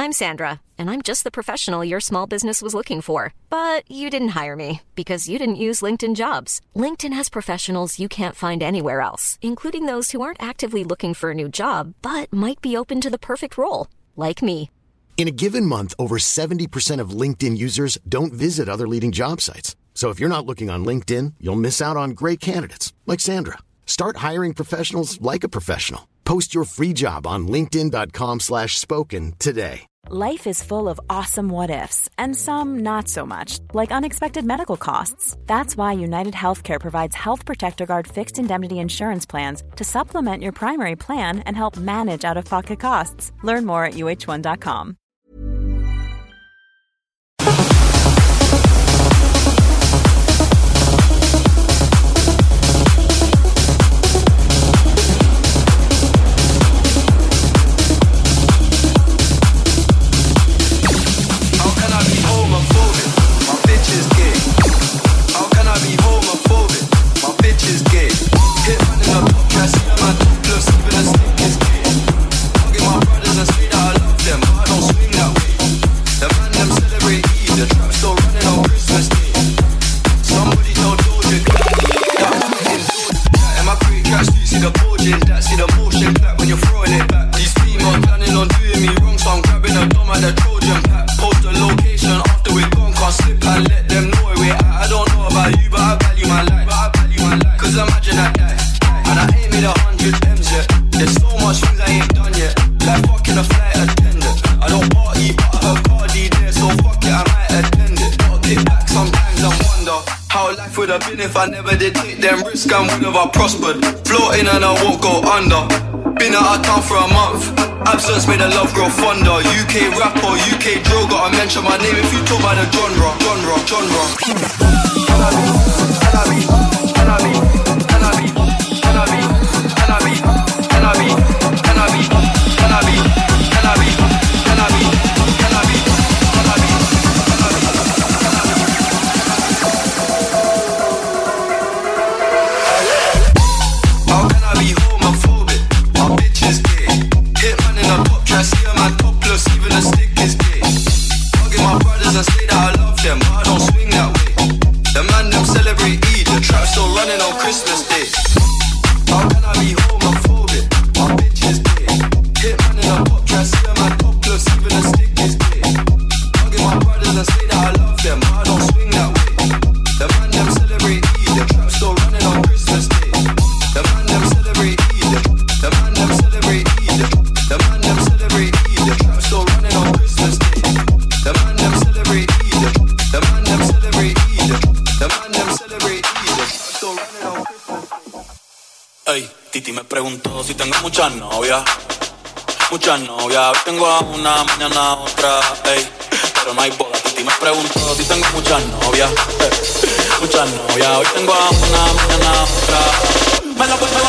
I'm Sandra, and I'm just the professional your small business was looking for. But you didn't hire me because you didn't use LinkedIn Jobs. LinkedIn has professionals you can't find anywhere else, including those who aren't actively looking for a new job, but might be open to the perfect role, like me. In a given month, over 70% of LinkedIn users don't visit other leading job sites. So if you're not looking on LinkedIn, you'll miss out on great candidates like Sandra. Start hiring professionals like a professional. Post your free job on linkedin.com/spoken today. Life is full of awesome what-ifs, and some not so much, like unexpected medical costs. That's why United Healthcare provides Health Protector Guard fixed indemnity insurance plans to supplement your primary plan and help manage out-of-pocket costs. Learn more at uh1.com. If I never did take them risks, I would have prospered. Floating and I won't go under. Been out of town for a month. Absence made the love grow fonder. UK rapper, UK drill. Gotta mention my name if you talk about the genre. Muchas novias, tengo a una, mañana a otra, ey, pero no hay boda. Titi me preguntó si tengo muchas novias, muchas novias. Hoy tengo a una, mañana a otra. Me la pongo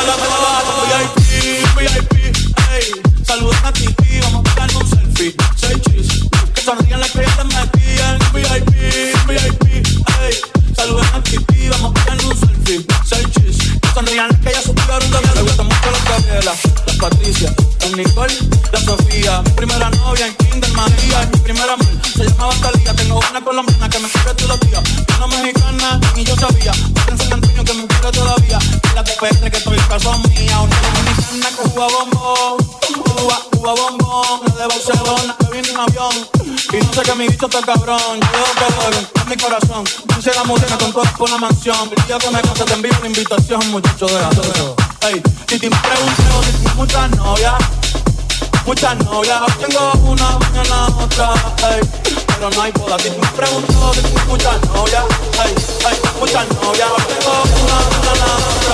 VIP, ey. Saludos a Titi, vamos a pegar un selfie. Say cheese, que sonrían las que ya te metían. VIP, ey. Saludos a Titi, vamos a pegar un selfie. Say cheese, que sonrían las que ya supieron de mí. Me gustan mucho las Gabriela, las Patricia, las Nicole, la Sofía. Mi primera novia en Kinder María. Mi primera amor se llamaba Talía. Tengo una colombiana que me quiere todos los días. Una mexicana ni yo sabía. Otra en San Antonio que me quiere todavía. Y la TPR que estoy caso mía. Una dominicana que juega bombón. Cuba bombón. La de Barcelona que viene en avión. Y no sé que mi bicho está cabrón. Yo dejo que jueguen en mi corazón. Puse la música con todo por la mansión. El día que me case te envío una invitación, muchacho, déjate eso. Ey, Titi me preguntó si tengo muchas novias. Muchas novias, hoy tengo una, mañana otra, ey, pero no hay boda. Titi me preguntó si tengo muchas novias, ey, muchas novias, hoy tengo una, mañana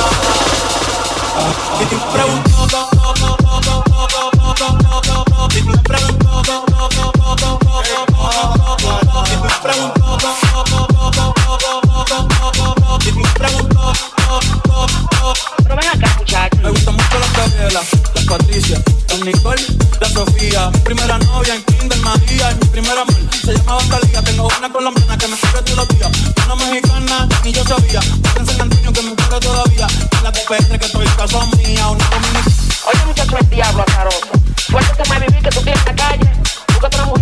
otra. Titi me preguntó, Titi me preguntó, Titi me preguntó, pero ven acá, muchachos. Me gusta mucho la Gabriela, la Patricia, la Nicole, la Sofía. Mi primera novia en Kinder María. Mi primera amor se llamaba Talía. Tengo una colombiana que me quiere todos los días. Una mexicana ni yo sabía. Otra en San Antonio que me quiere todavía. Y la TPR que estoy caso mía. Una dominicana. Oye, muchacho, el diablo azaroso. Suéltate más vivir que tú tienes en la calle. Búscate una mujer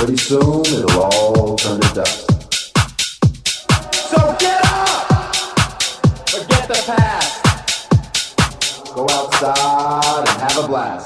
Pretty soon it'll all turn to dust. So get up! Forget the past. Go outside and have a blast.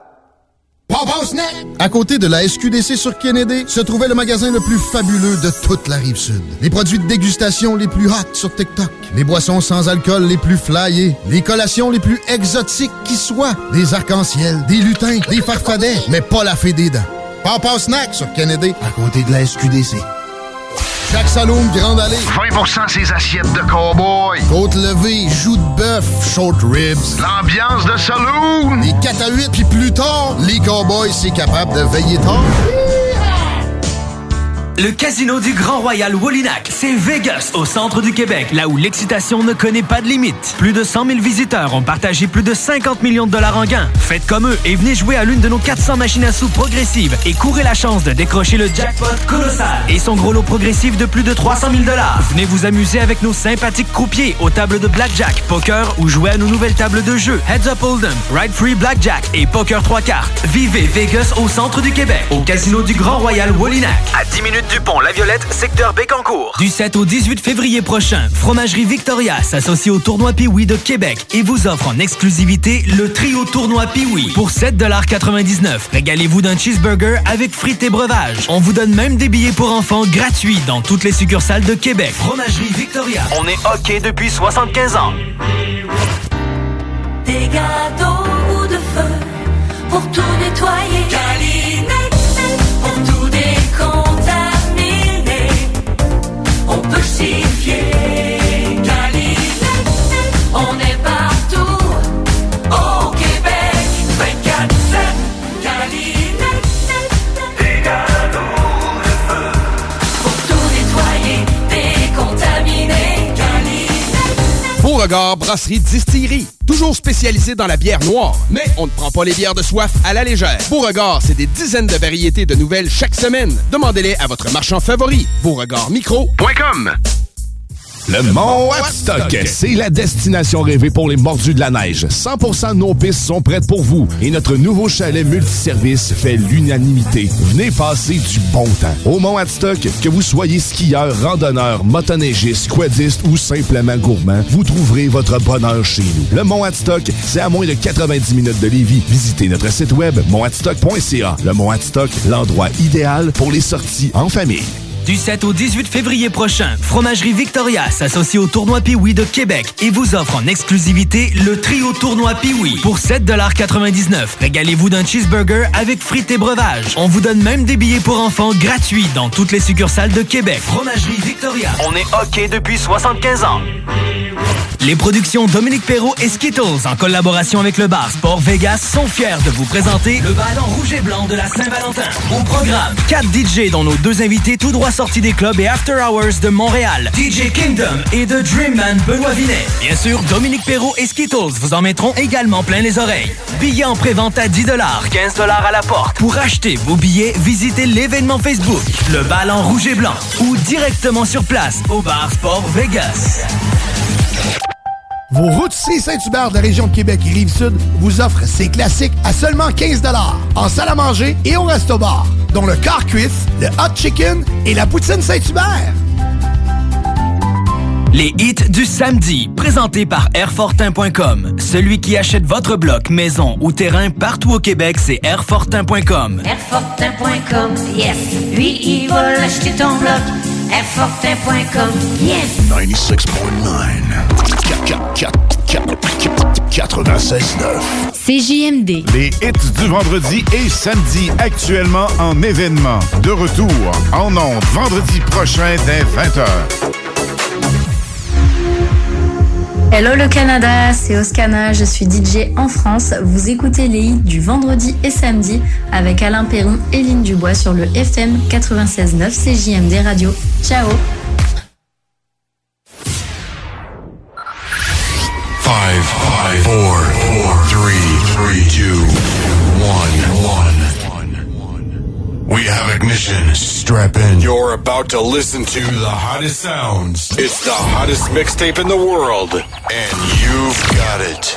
À côté de la SQDC sur Kennedy, se trouvait le magasin le plus fabuleux de toute la Rive-Sud. Les produits de dégustation les plus hot sur TikTok, les boissons sans alcool les plus flyées, les collations les plus exotiques qui soient, des arcs-en-ciel, des lutins, des farfadets, mais pas la fée des dents. Papa Snack sur Kennedy, à côté de la SQDC. Chaque Saloon Grande Allée. 20% ses assiettes de cow-boy. Côte levée, joues de bœuf, short ribs. L'ambiance de saloon. Les 4 à 8, puis plus tard, les cowboys, c'est capable de veiller tard. Le casino du Grand Royal Wallinac, c'est Vegas, au centre du Québec, là où l'excitation ne connaît pas de limite. Plus de 100 000 visiteurs ont partagé plus de 50 millions de dollars en gains. Faites comme eux et venez jouer à l'une de nos 400 machines à sous progressives et courez la chance de décrocher le jackpot colossal et son gros lot progressif de plus de 300 000 dollars. Venez vous amuser avec nos sympathiques croupiers aux tables de blackjack, poker ou jouer à nos nouvelles tables de jeu Heads Up Hold'em, Ride Free Blackjack et Poker 3 cartes. Vivez Vegas au centre du Québec, au casino du Grand Royal Wallinac. À 10 minutes du pont La Violette, secteur Bécancour. Du 7 au 18 février prochain, Fromagerie Victoria s'associe au Tournoi Pee-Wee de Québec et vous offre en exclusivité le trio Tournoi Pee-Wee pour 7,99 $. Régalez-vous d'un cheeseburger avec frites et breuvages. On vous donne même des billets pour enfants gratuits dans toutes les succursales de Québec. Fromagerie Victoria. On est OK depuis 75 ans. Des gâteaux ou de feu pour tout nettoyer. Calinette pour tout décontaminer. On peut s'y fier. Calinette, on est partout au Québec. 24/7. Calinette, des gâteaux de feu pour tout nettoyer, décontaminer. Calinette. Beauregard Brasserie Distillerie. Toujours spécialisé dans la bière noire, mais on ne prend pas les bières de soif à la légère. Beauregard, c'est des dizaines de variétés de nouvelles chaque semaine. Demandez-les à votre marchand favori. BeauregardMicro.com. Le Mont Adstock, c'est la destination rêvée pour les mordus de la neige. 100% de nos pistes sont prêtes pour vous et notre nouveau chalet multiservice fait l'unanimité. Venez passer du bon temps. Au Mont Adstock, que vous soyez skieur, randonneur, motoneigiste, quadiste ou simplement gourmand, vous trouverez votre bonheur chez nous. Le Mont Adstock, c'est à moins de 90 minutes de Lévis. Visitez notre site web montadstock.ca. Le Mont Adstock, l'endroit idéal pour les sorties en famille. Du 7 au 18 février prochain, Fromagerie Victoria s'associe au Tournoi Pee-Wee de Québec et vous offre en exclusivité le trio Tournoi Pee-Wee pour 7,99 $. Régalez-vous d'un cheeseburger avec frites et breuvages. On vous donne même des billets pour enfants gratuits dans toutes les succursales de Québec. Fromagerie Victoria. On est OK depuis 75 ans. Les productions Dominique Perrault et Skittles, en collaboration avec le bar Sport Vegas, sont fiers de vous présenter le ballon rouge et blanc de la Saint-Valentin. Au programme, 4 DJ dont nos 2 invités tout droit sortis des clubs et after hours de Montréal, DJ Kingdom et The Dreamman Benoît Vinet. Bien sûr, Dominique Perrault et Skittles vous en mettront également plein les oreilles. Billets en prévente à 10 $, 15 $ à la porte. Pour acheter vos billets, visitez l'événement Facebook, le ballon rouge et blanc, ou directement sur place au bar Sport Vegas. Vos routiers Saint-Hubert de la région de Québec et Rive-Sud vous offrent ces classiques à seulement 15 $ en salle à manger et au resto-bar, dont le car cuisse, le hot chicken et la poutine Saint-Hubert. Les hits du samedi, présentés par Airfortin.com. Celui qui achète votre bloc, maison ou terrain partout au Québec, c'est Airfortin.com. Airfortin.com, yes. Lui, il va l'acheter ton bloc. Airfortin.com, yes. 96.9. CJMD. Les hits du vendredi et samedi actuellement en événement. De retour en ondes vendredi prochain dès 20h. Hello le Canada, c'est Oscana, je suis DJ en France. Vous écoutez les hits du vendredi et samedi avec Alain Perron et Lynn Dubois sur le FM 96.9 CJMD Radio. Ciao. 5, 4, 3, 2, 1. We have ignition. Strap in. You're about to listen to the hottest sounds. It's the hottest mixtape in the world. And you've got it.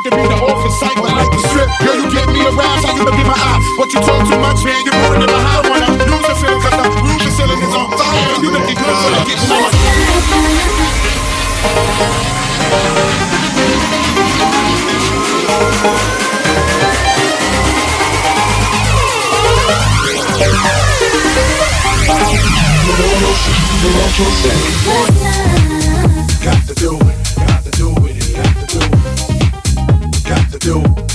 can be the office cycle like the strip. Girl, you get me aroused, how you look in my eye. But you talk too much, man, you're ruining my high. I wanna lose the feeling cause the roof the ceiling is on fire. And you looking good for the getting on. Got to do it, got to do it, got to do it, got to do it.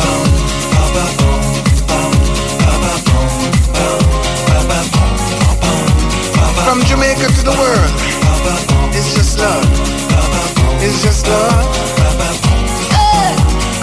From Jamaica to the world, it's just love. It's just love. Hey!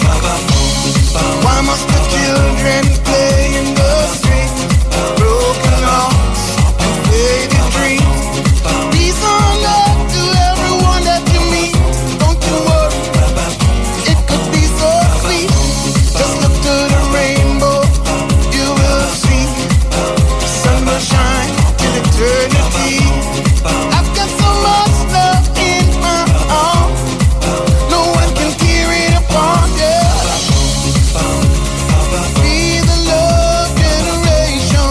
Why must the children play in the street? Broken hearts and faded dreams. Peace on earth to everyone that you meet. Don't you worry, it could be so sweet. Just look to the rainbow, you will see. The sun will shine till eternity. I've got so much love in my heart, no one can tear it apart, yeah. Be the love generation.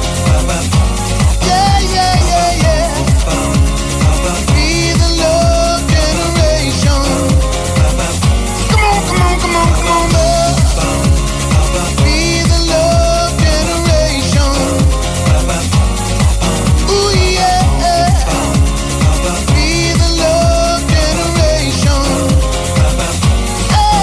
Yeah, yeah, yeah, yeah. Be the love generation. Come on, come on, come on, come on, love. Be the love generation. Ooh, yeah. Be the love generation. Hey.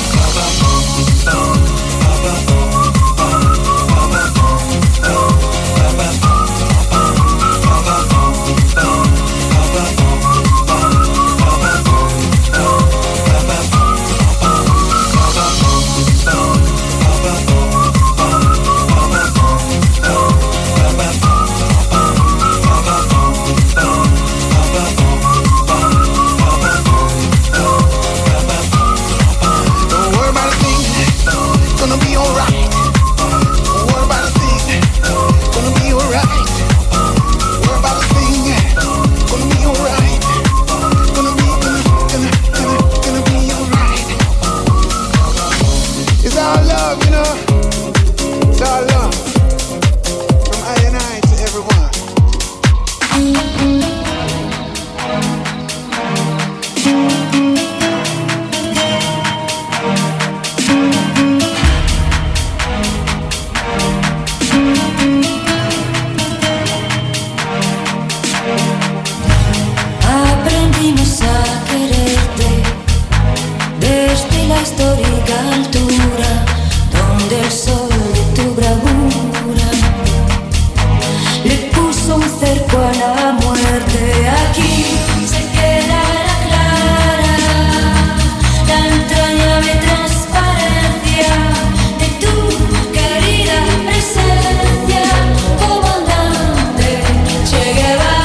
Don't worry about a thing, it's gonna be alright. Don't worry about a thing, it's gonna be alright. Don't worry about a thing, it's gonna be alright. Gonna be alright. It's our love, you know. It's our love. From I and I to everyone. Aprendimos a quererte desde la histórica altura donde el sol de tu bravura le puso un cerco a la muerte. Aquí se quedará clara la entrañable transparencia de tu querida presencia, comandante Che Guevara.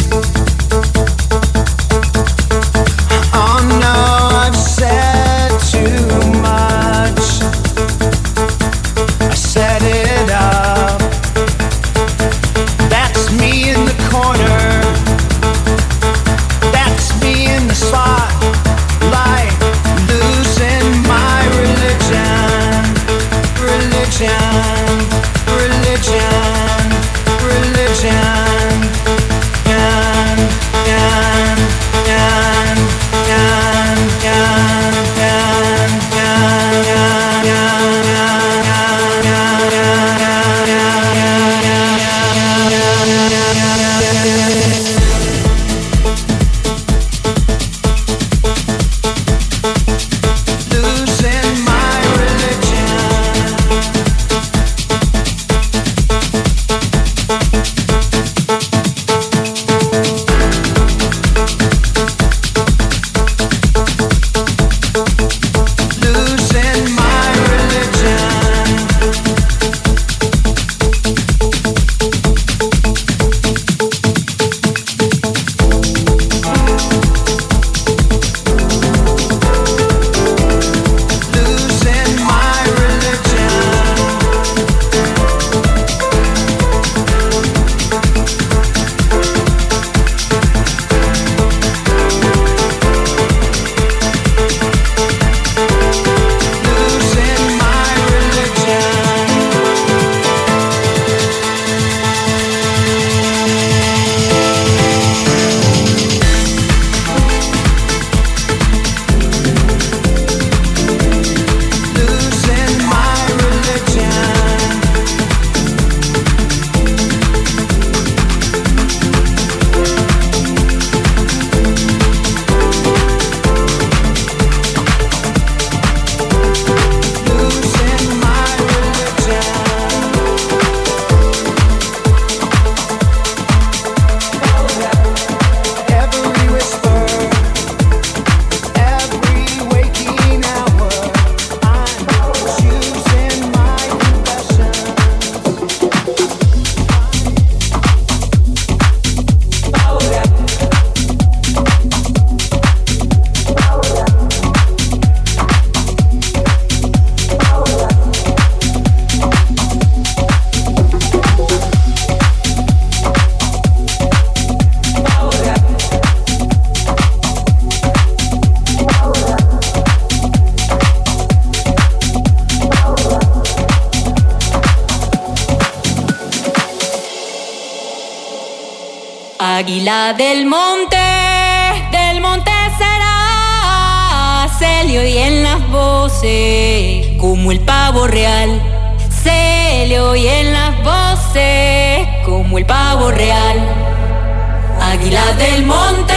Oh no, I've said Águila del monte será, se le oyen las voces como el pavo real, se le oyen las voces como el pavo real. Águila del monte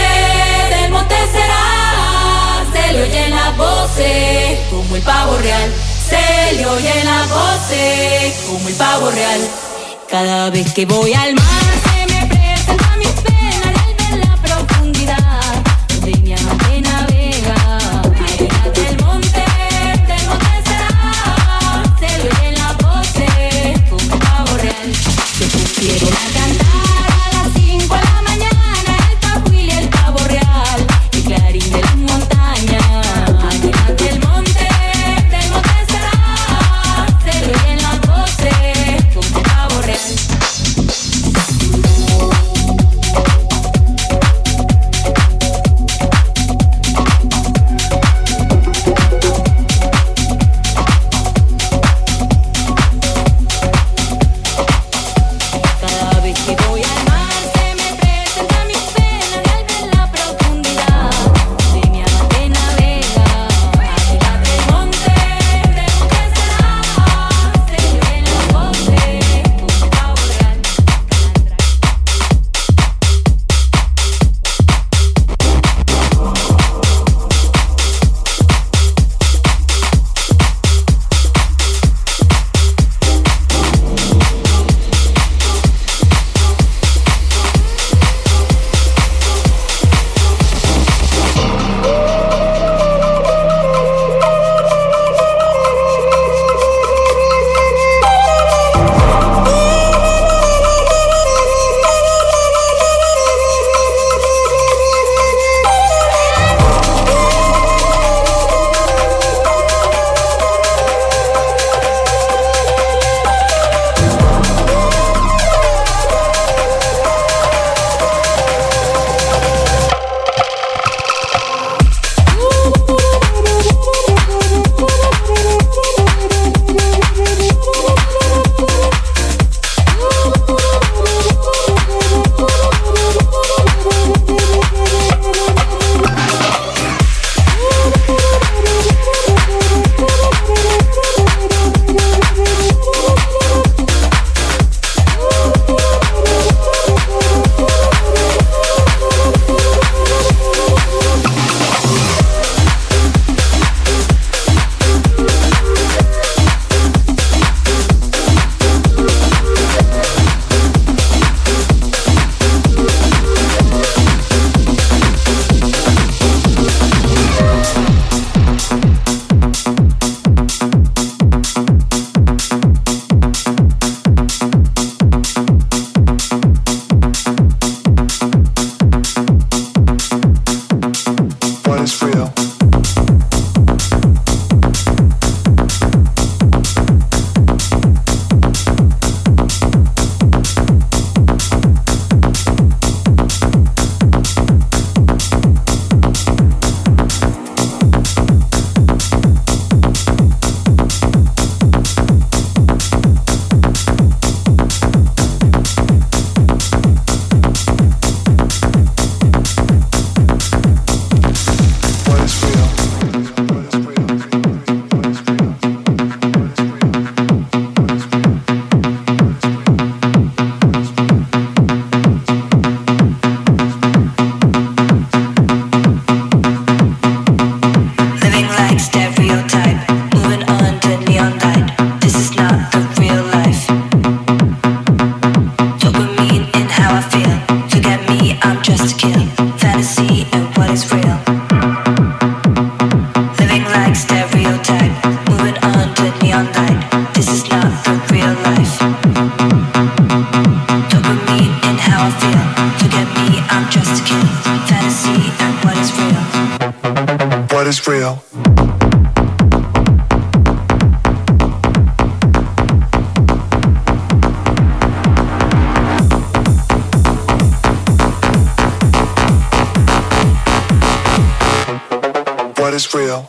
será, se le oyen las voces como el pavo real, se le oyen las voces como el pavo real. Cada vez que voy al mar se me presenta mis penas en la profundidad donde mi amante navega. Águila del monte será, se le oyen las voces como el pavo real. Se pusieron a cantar a las 5 de la mañana el pajuil y el pavo real, el clarín de las montañas. Águila del monte será, se le oyen las voces como el pavo real. stereotype. Moving on to neon light. This is not the real life. Dopamine in how I feel. Look at me, I'm just a kid. Fantasy and what is real? What is real? What is real?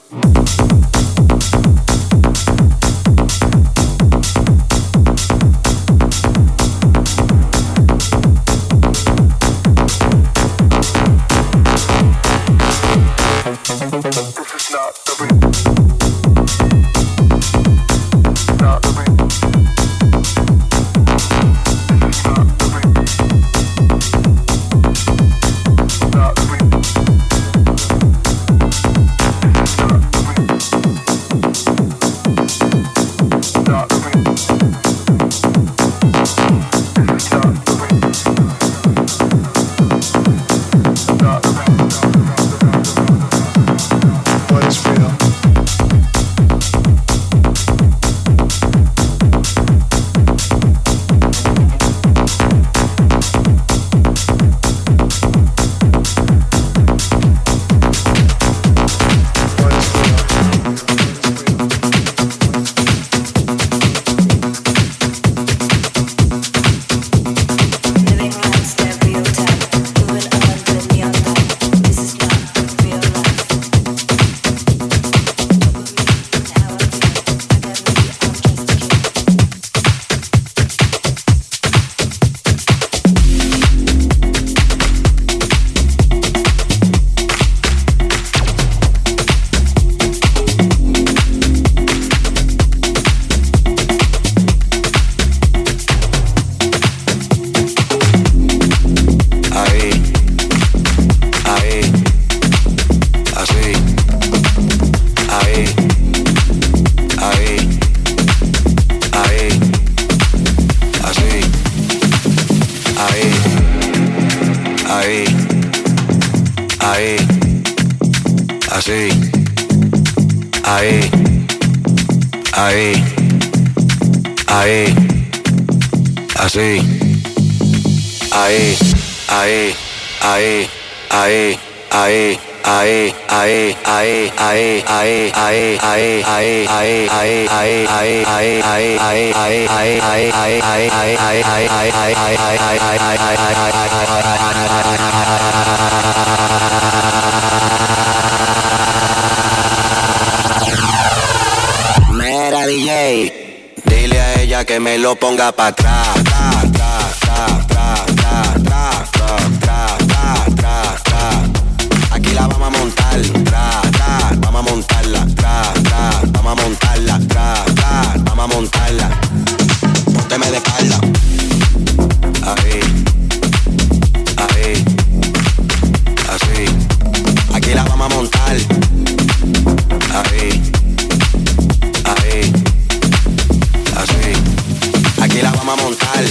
Mira, DJ, dile a ella que me lo ponga pa' atrás. Aquí la vamos a montar, vamos a montarla, vamos a montarla, vamos a montarla. Pónteme de espalda. Ahí, así. Aquí la vamos a montar. Ahí, así. Aquí la vamos a montar.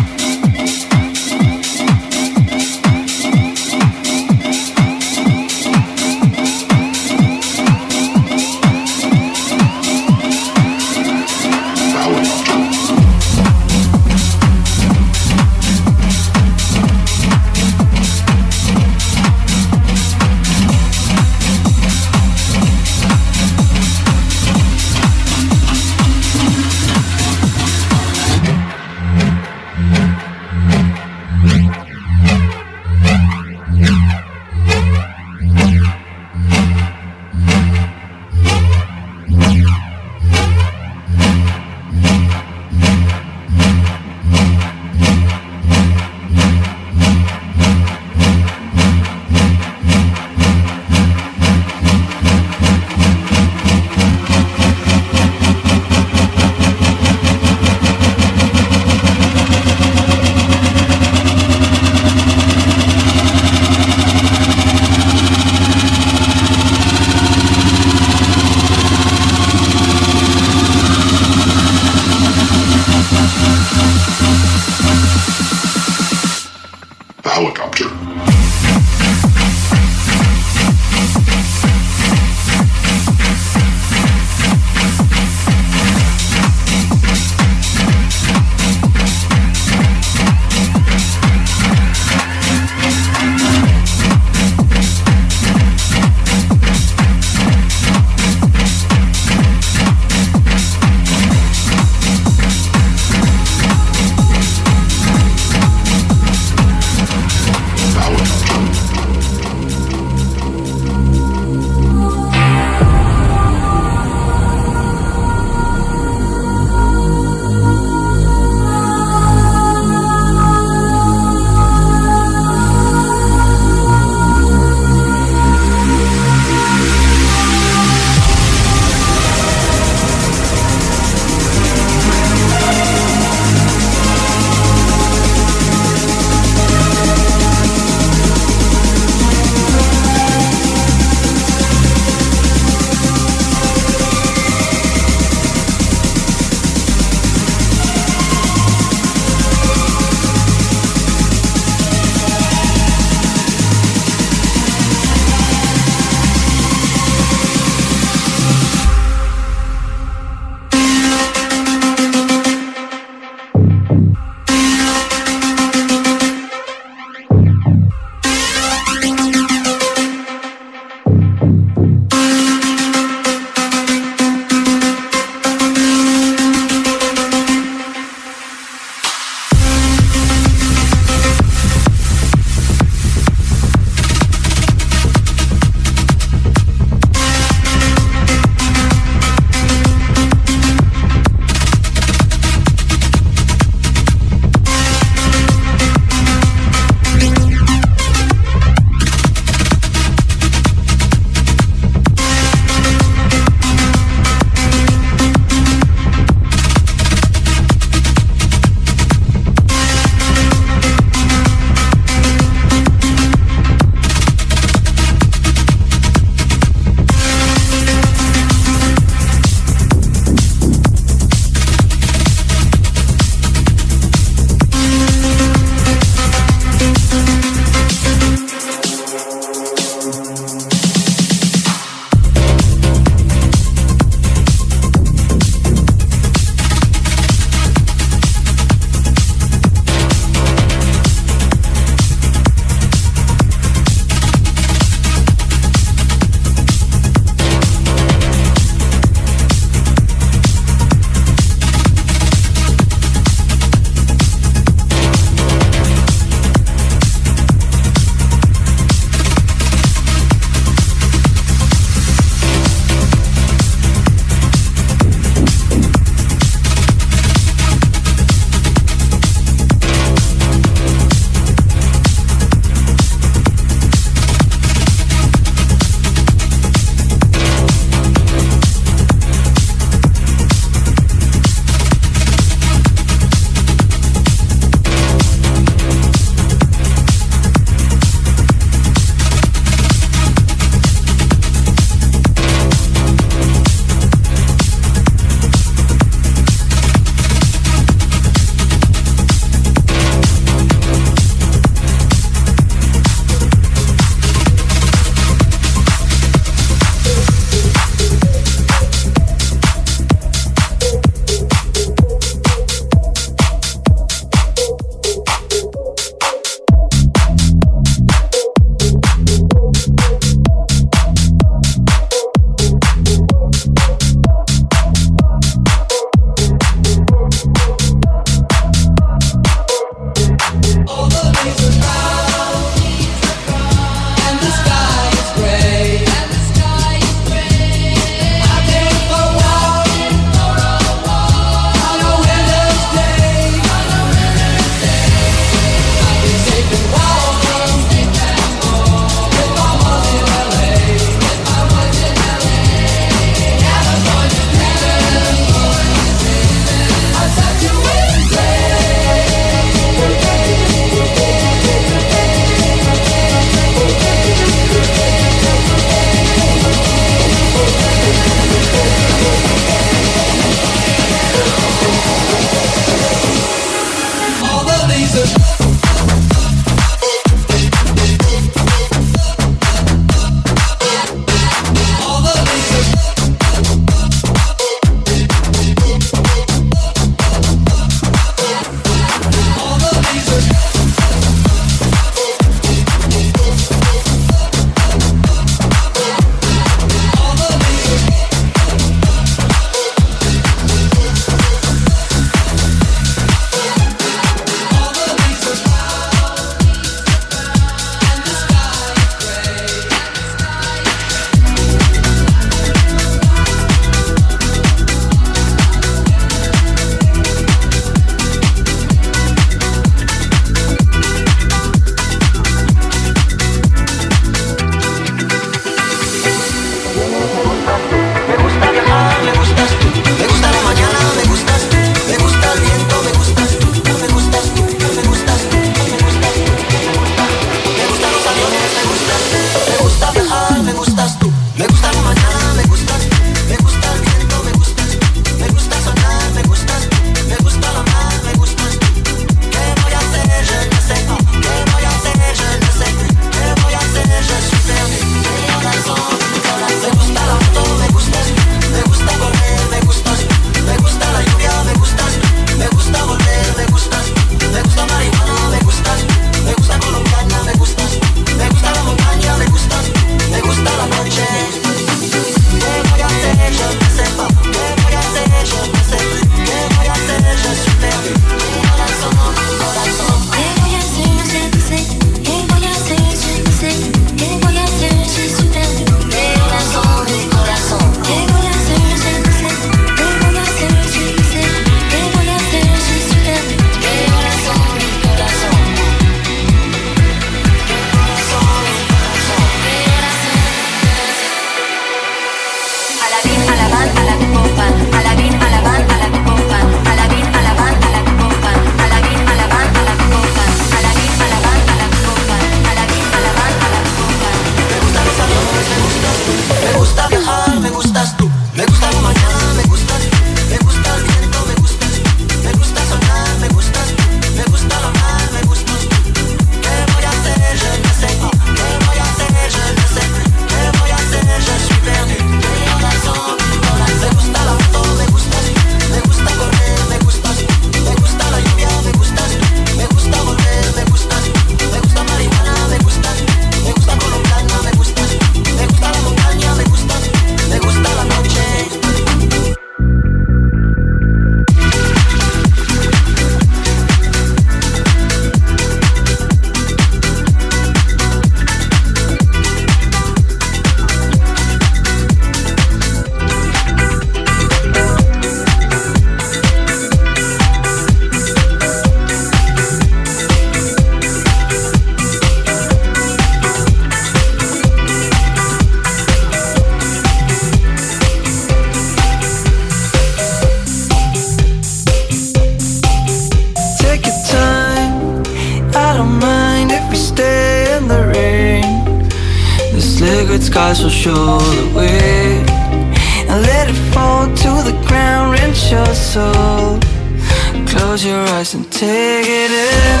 eyes will show the way. And let it fall to the ground, rent your soul. Close your eyes and take it in.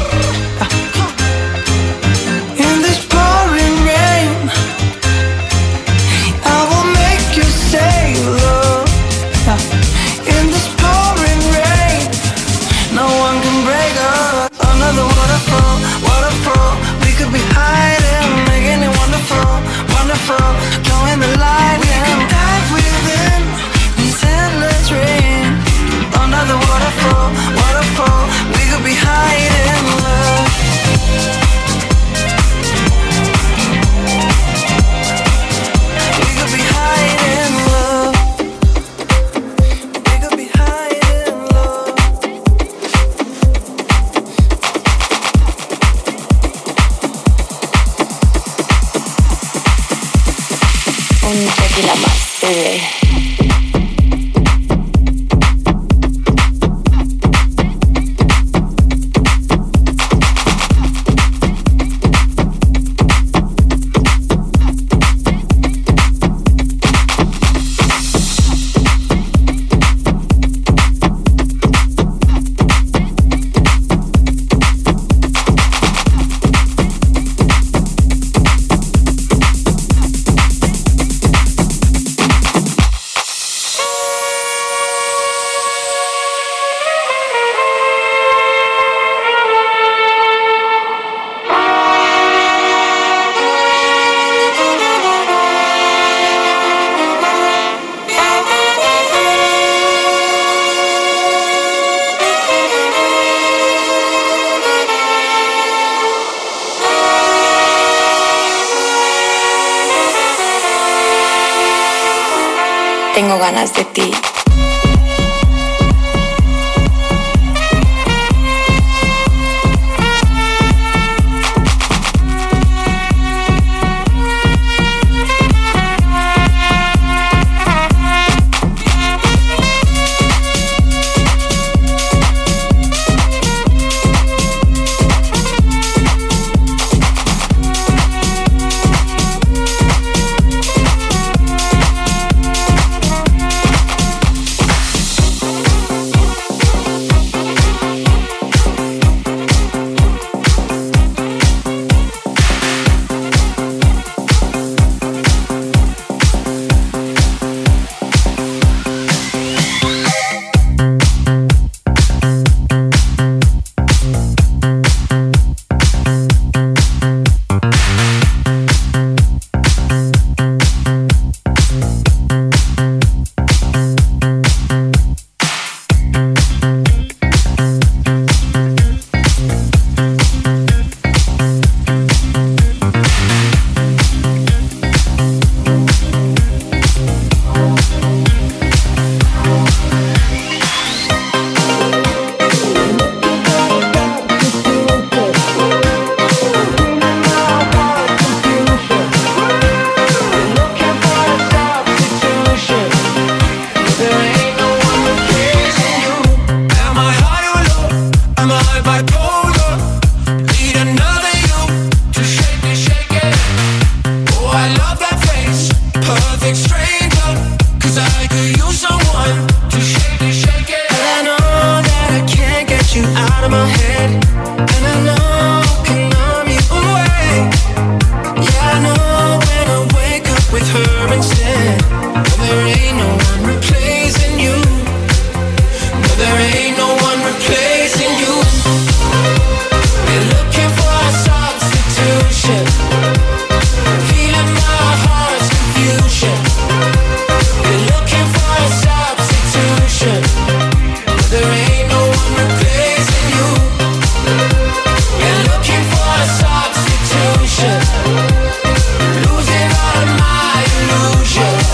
In this pouring rain, I will make you say love. In this pouring rain, no one can break us. Another waterfall, waterfall. We could be hiding, making it wonderful, wonderful. Join the light. We can dive within this endless rain. Another waterfall, waterfall. We could be hiding love. We could be hiding love. We could be hiding love. Un tequila más, bebé. Tengo ganas de ti. Losing all my illusions.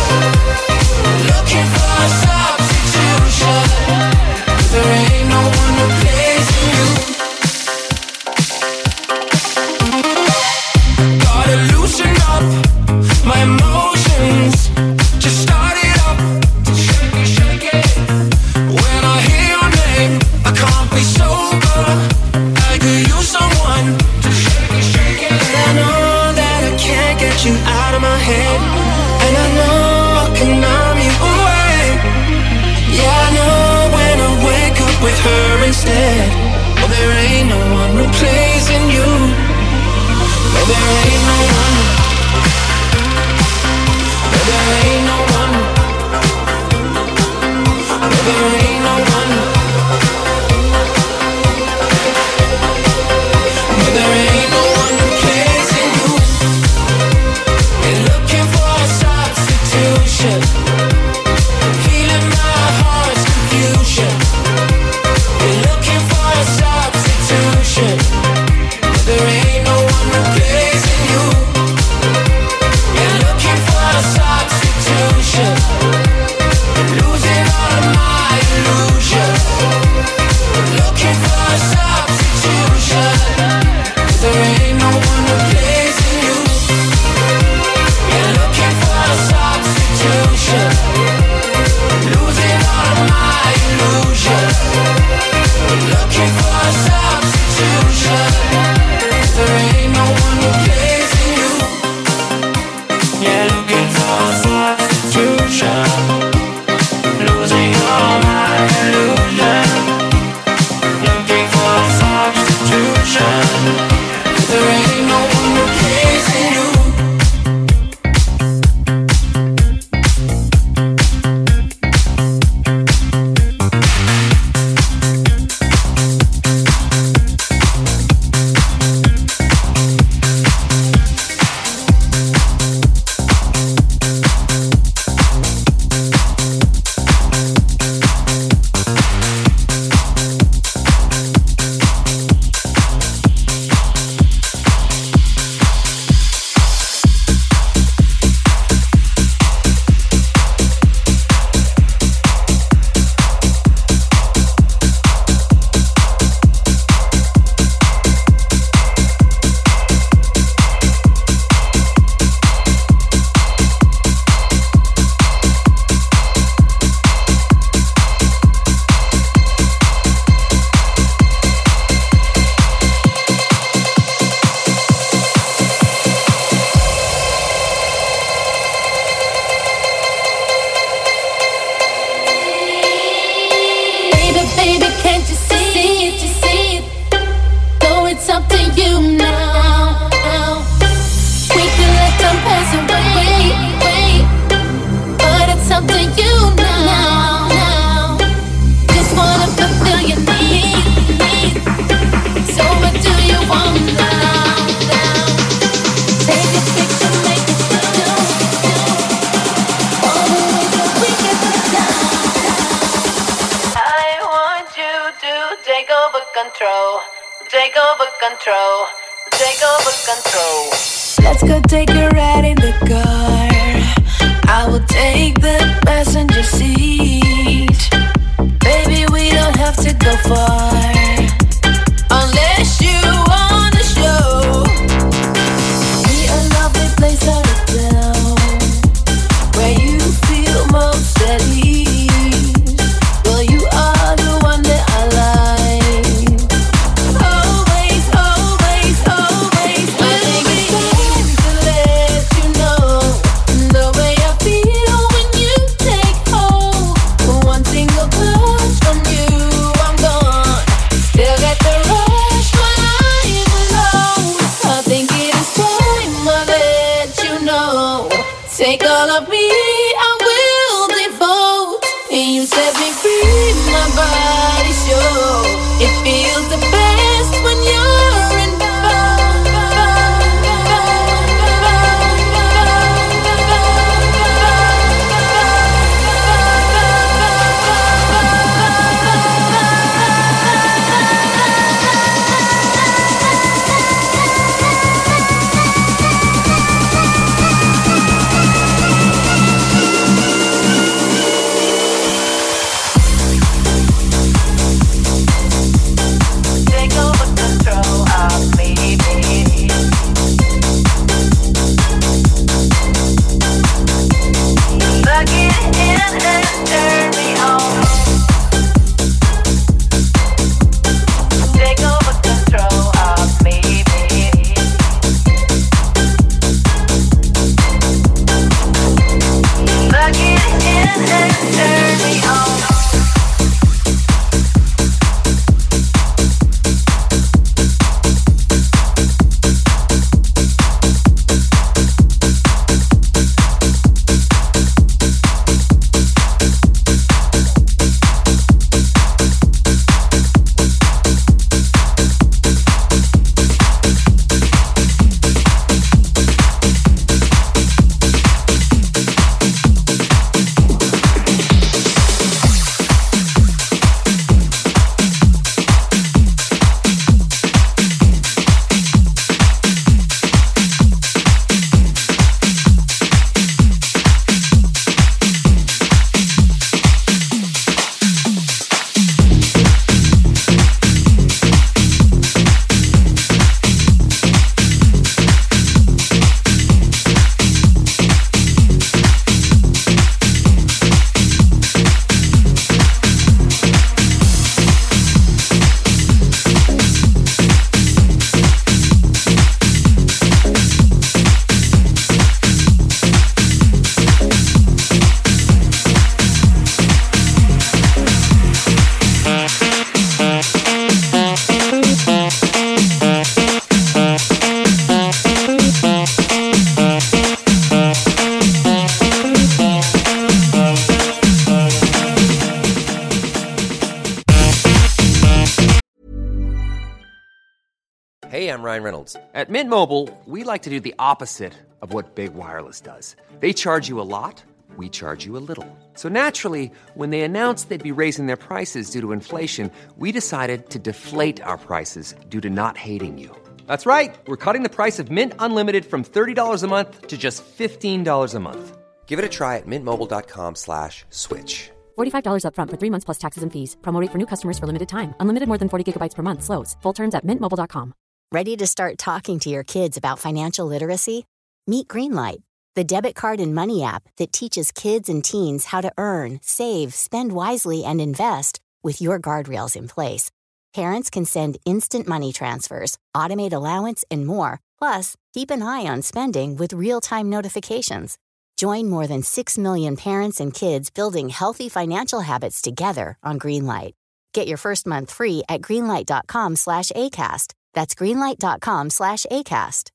Hey, I'm Ryan Reynolds. At Mint Mobile, we like to do the opposite of what Big Wireless does. They charge you a lot, we charge you a little. So naturally, when they announced they'd be raising their prices due to inflation, we decided to deflate our prices due to not hating you. That's right. We're cutting the price of Mint Unlimited from $30 a month to just $15 a month. Give it a try at mintmobile.com/switch. $45 up front for 3 months plus taxes and fees. Promo rate for new customers for limited time. Unlimited more than 40 gigabytes per month. Slows full terms at mintmobile.com. Ready to start talking to your kids about financial literacy? Meet Greenlight, the debit card and money app that teaches kids and teens how to earn, save, spend wisely, and invest with your guardrails in place. Parents can send instant money transfers, automate allowance, and more. Plus, keep an eye on spending with real-time notifications. Join more than 6 million parents and kids building healthy financial habits together on Greenlight. Get your first month free at greenlight.com/ACAST. That's greenlight.com/ACAST.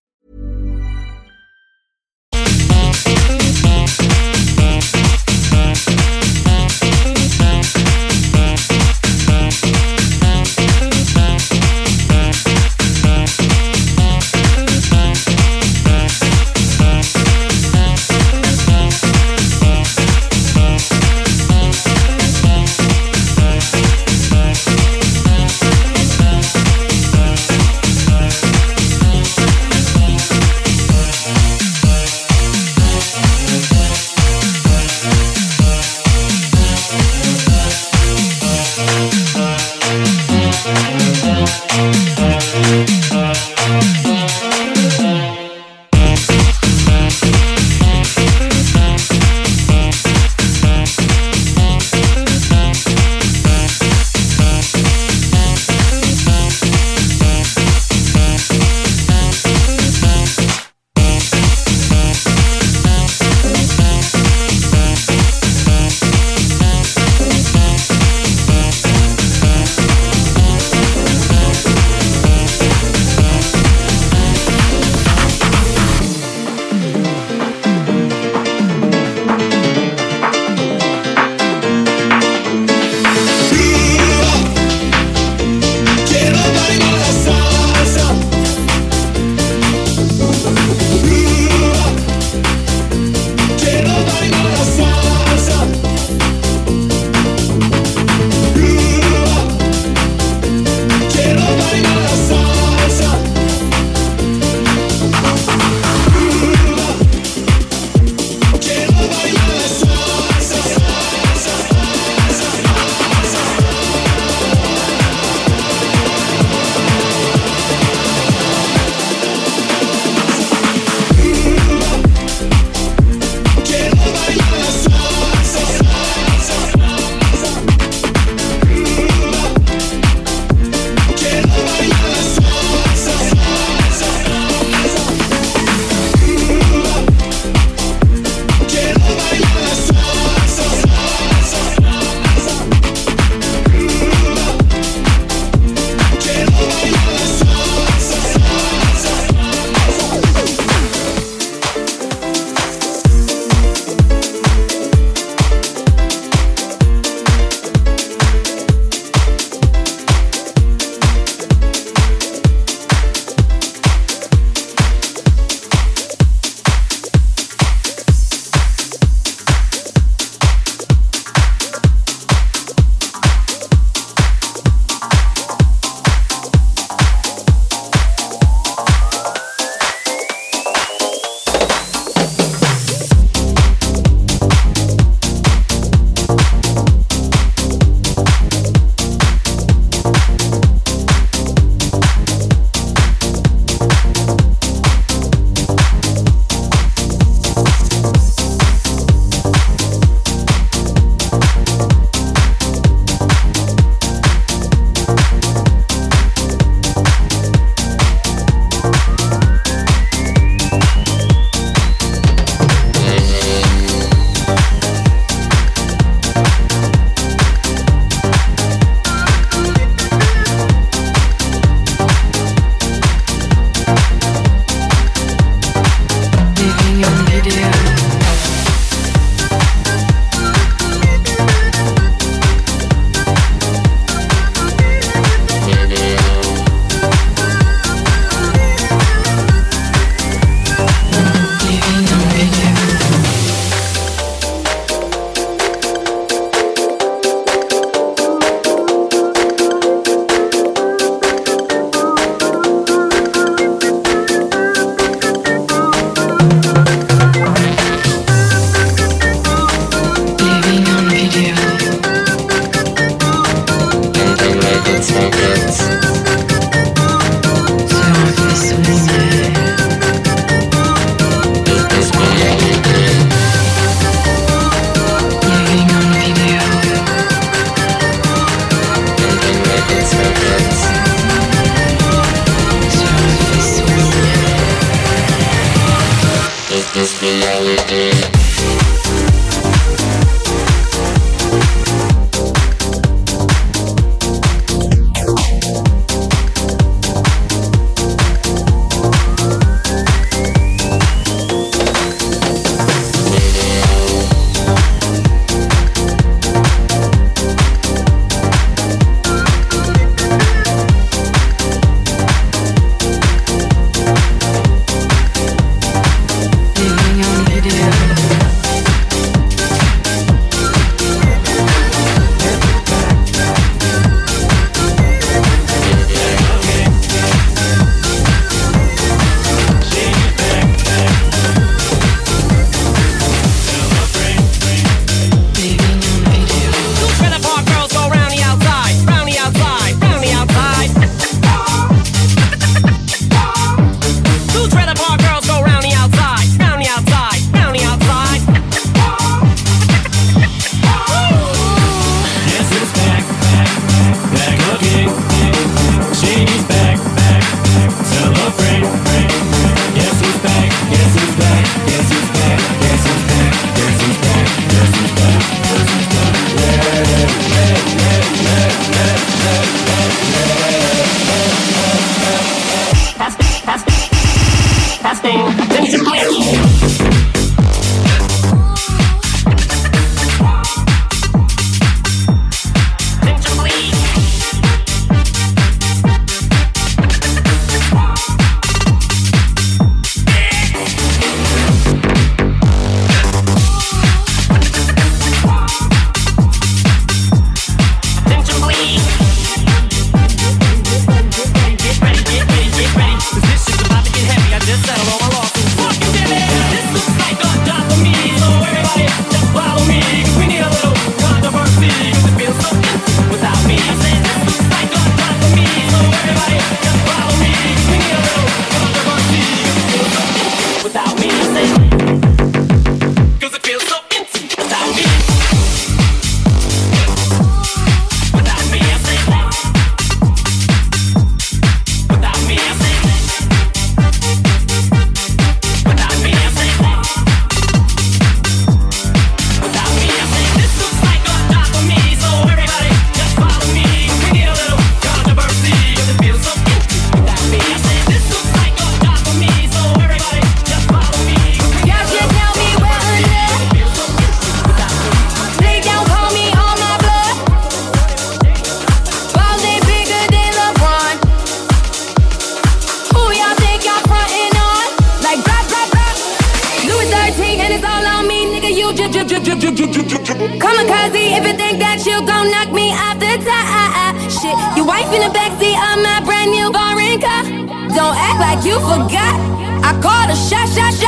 Kamikaze, if you think that you gon' knock me off the top. Shit, your wife in the backseat of my brand new foreign car. Don't act like you forgot. I called a shot.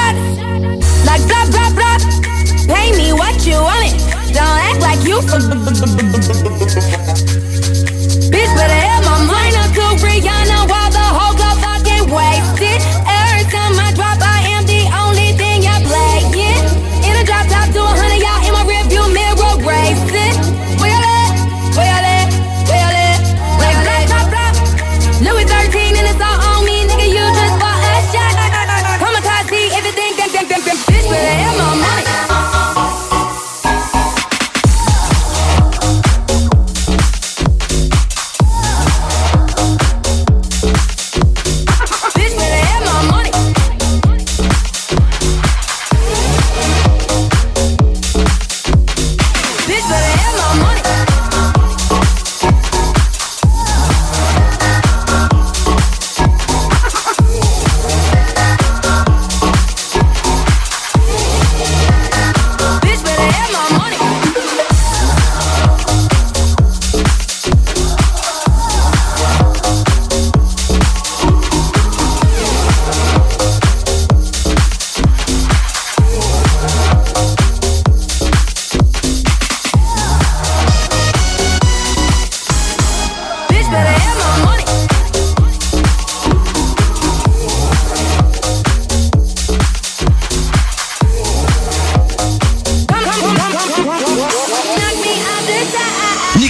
Like blah, blah, blah. Pay me what you want it. Don't act like you Bitch, better have my mind up to Rihanna while the whole go fucking wasted. Every time I drop, I am the only thing y'all playing. In a drop top to 100, y'all in my rearview mirror racing. Where y'all at? Where y'all at? Where y'all at? Like blah, blah, blah. Louis 13 and it's all on me, nigga, you just bought a shot. Kamikaze, if you think that, bitch, better have my money.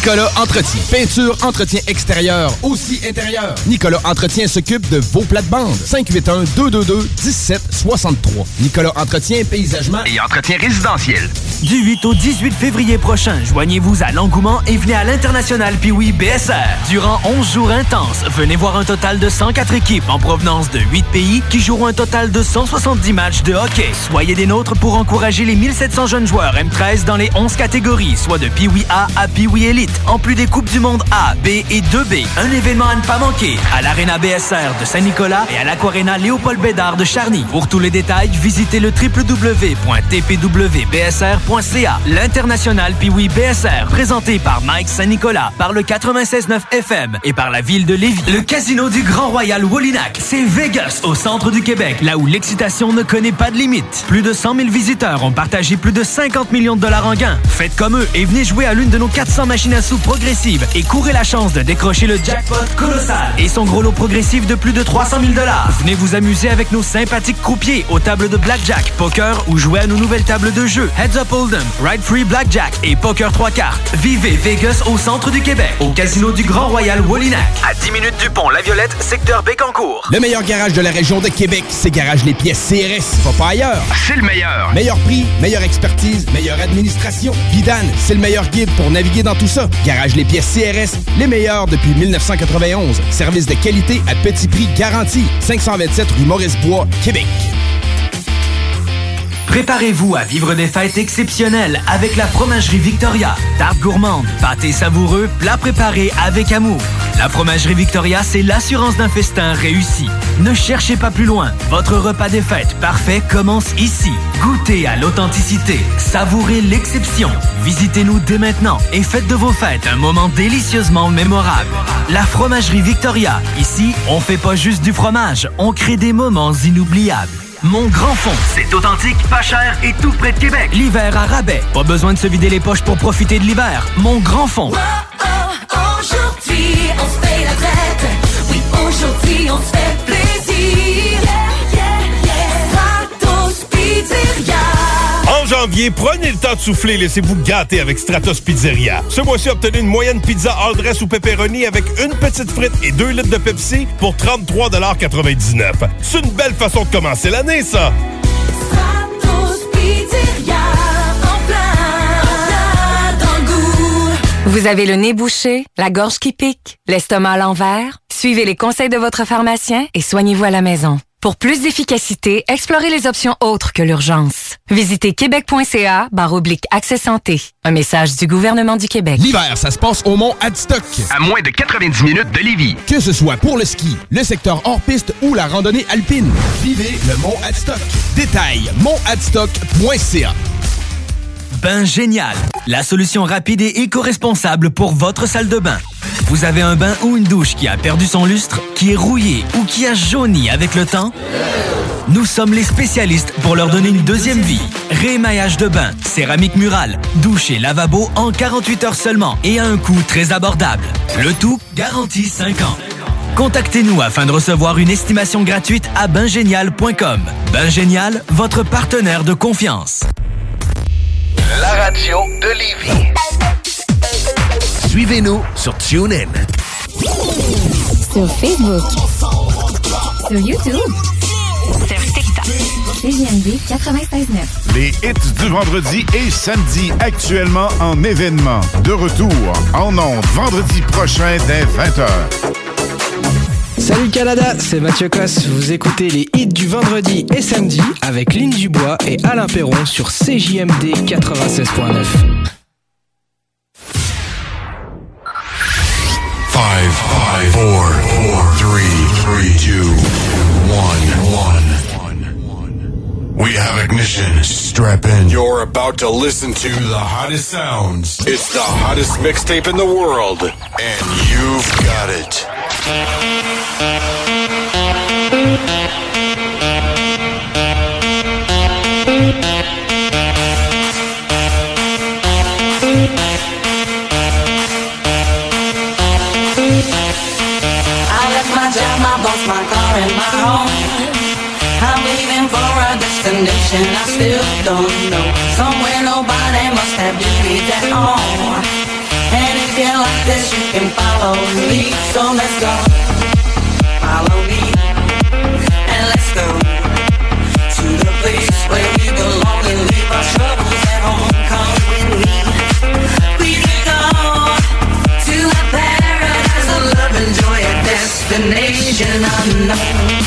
Nicolas Entretien. Peinture, entretien extérieur, aussi intérieur. Nicolas Entretien s'occupe de vos plates-bandes. 581-222-1763. Nicolas Entretien, paysagement et entretien résidentiel. Du 8 au 18 février prochain, joignez-vous à l'engouement et venez à l'International Pee-Wee BSR. Durant 11 jours intenses, venez voir un total de 104 équipes en provenance de 8 pays qui joueront un total de 170 matchs de hockey. Soyez des nôtres pour encourager les 1700 jeunes joueurs M13 dans les 11 catégories, soit de Pee-Wee A à Pee-Wee Elite, en plus des Coupes du Monde A, B et 2B. Un événement à ne pas manquer à l'Arena BSR de Saint-Nicolas et à l'Aquarena Léopold Bédard de Charny. Pour tous les détails, visitez le www.tpwbsr.ca. L'International Pee-Wee BSR, présenté par Mike Saint-Nicolas, par le 96.9 FM et par la ville de Lévis. Le Casino du Grand Royal Wallinac, c'est Vegas, au centre du Québec, là où l'excitation ne connaît pas de limite. Plus de 100 000 visiteurs ont partagé plus de 50 millions de dollars en gains. Faites comme eux et venez jouer à l'une de nos 400 machines à sous progressives et courez la chance de décrocher le jackpot colossal et son gros lot progressif de plus de 300 000 dollars. Venez vous amuser avec nos sympathiques croupiers aux tables de blackjack, poker ou jouer à nos nouvelles tables de jeu Heads Up Hold'em, Ride Free Blackjack et Poker 3 cartes. Vivez Vegas au centre du Québec, au Casino du Grand Royal Wallinac. À 10 minutes du pont La Violette, secteur Bécancour. Le meilleur garage de la région de Québec, c'est Garage Les Pièces CRS. Va pas ailleurs. C'est le meilleur. Meilleur prix, meilleure expertise, meilleure administration. Vidane, c'est le meilleur guide pour naviguer dans tout ça. Garage Les Pièces CRS, les meilleurs depuis 1991. Service de qualité à petit prix garanti. 527 rue Maurice-Bois, Québec. Préparez-vous à vivre des fêtes exceptionnelles avec la Fromagerie Victoria. Tarte gourmande, pâté savoureux, plats préparés avec amour. La Fromagerie Victoria, c'est l'assurance d'un festin réussi. Ne cherchez pas plus loin. Votre repas des fêtes parfait commence ici. Goûtez à l'authenticité. Savourez l'exception. Visitez-nous dès maintenant et faites de vos fêtes un moment délicieusement mémorable. La Fromagerie Victoria. Ici, on fait pas juste du fromage, on crée des moments inoubliables. Mon Grand Fond, c'est authentique, pas cher et tout près de Québec. L'hiver à rabais. Pas besoin de se vider les poches pour profiter de l'hiver. Mon Grand Fond. Aujourd'hui, on se fait la fête. Oui, aujourd'hui, on se fait plaisir. Stratos Pizzeria. En janvier, prenez le temps de souffler et laissez-vous gâter avec Stratos Pizzeria. Ce mois-ci, obtenez une moyenne pizza all dress ou pepperoni avec une petite frite et 2 litres de Pepsi pour 33,99 $. C'est une belle façon de commencer l'année, ça! Stratos Pizzeria, en plein dans le goût. Vous avez le nez bouché, la gorge qui pique, l'estomac à l'envers? Suivez les conseils de votre pharmacien et soignez-vous à la maison. Pour plus d'efficacité, explorez les options autres que l'urgence. Visitez québec.ca/accès santé. Un message du gouvernement du Québec. L'hiver, ça se passe au Mont Adstock. À moins de 90 minutes de Lévis. Que ce soit pour le ski, le secteur hors-piste ou la randonnée alpine. Vivez le Mont Adstock. Détails, montadstock.ca. Bain Génial, la solution rapide et éco-responsable pour votre salle de bain. Vous avez un bain ou une douche qui a perdu son lustre, qui est rouillé ou qui a jauni avec le temps? Nous sommes les spécialistes pour leur donner une deuxième vie. Réémaillage de bain, céramique murale, douche et lavabo en 48 heures seulement et à un coût très abordable. Le tout garanti 5 ans. Contactez-nous afin de recevoir une estimation gratuite à baingénial.com. Bain Génial, votre partenaire de confiance. La radio de Lévis. Suivez-nous sur TuneIn. Sur Facebook. Sur YouTube. Sur TikTok. CJMD 96.9. Les hits du vendredi et samedi actuellement en événement. De retour en ondes vendredi prochain dès 20h. Salut Canada, c'est Mathieu Cosse. Vous écoutez les hits du vendredi et samedi avec Lynn Dubois et Alain Perron sur CJMD 96.9. 5, 4, 3, 2, 1. We have ignition. Strap in. You're about to listen to the hottest sounds. It's the hottest mixtape in the world, and you've got it. I left my job, my boss, my car, and my home. I'm leaving for a destination I still don't know. Somewhere nobody must have duties at all. And if you like this, you can follow me. So let's go. Follow me. And let's go to the place where we belong and leave our troubles at home. Come with me. We can go to a paradise of love and joy, a destination unknown.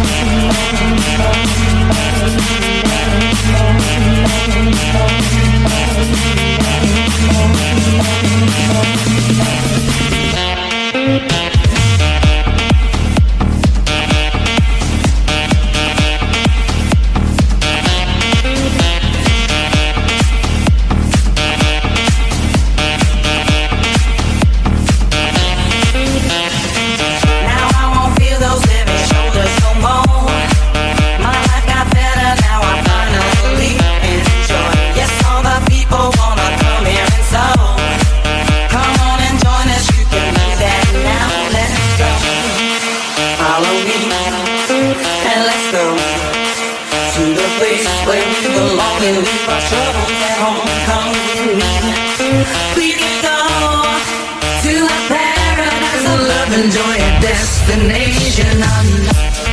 And leave our troubles at home. Come with me. We can go to a paradise of love and joy, a destination unknown.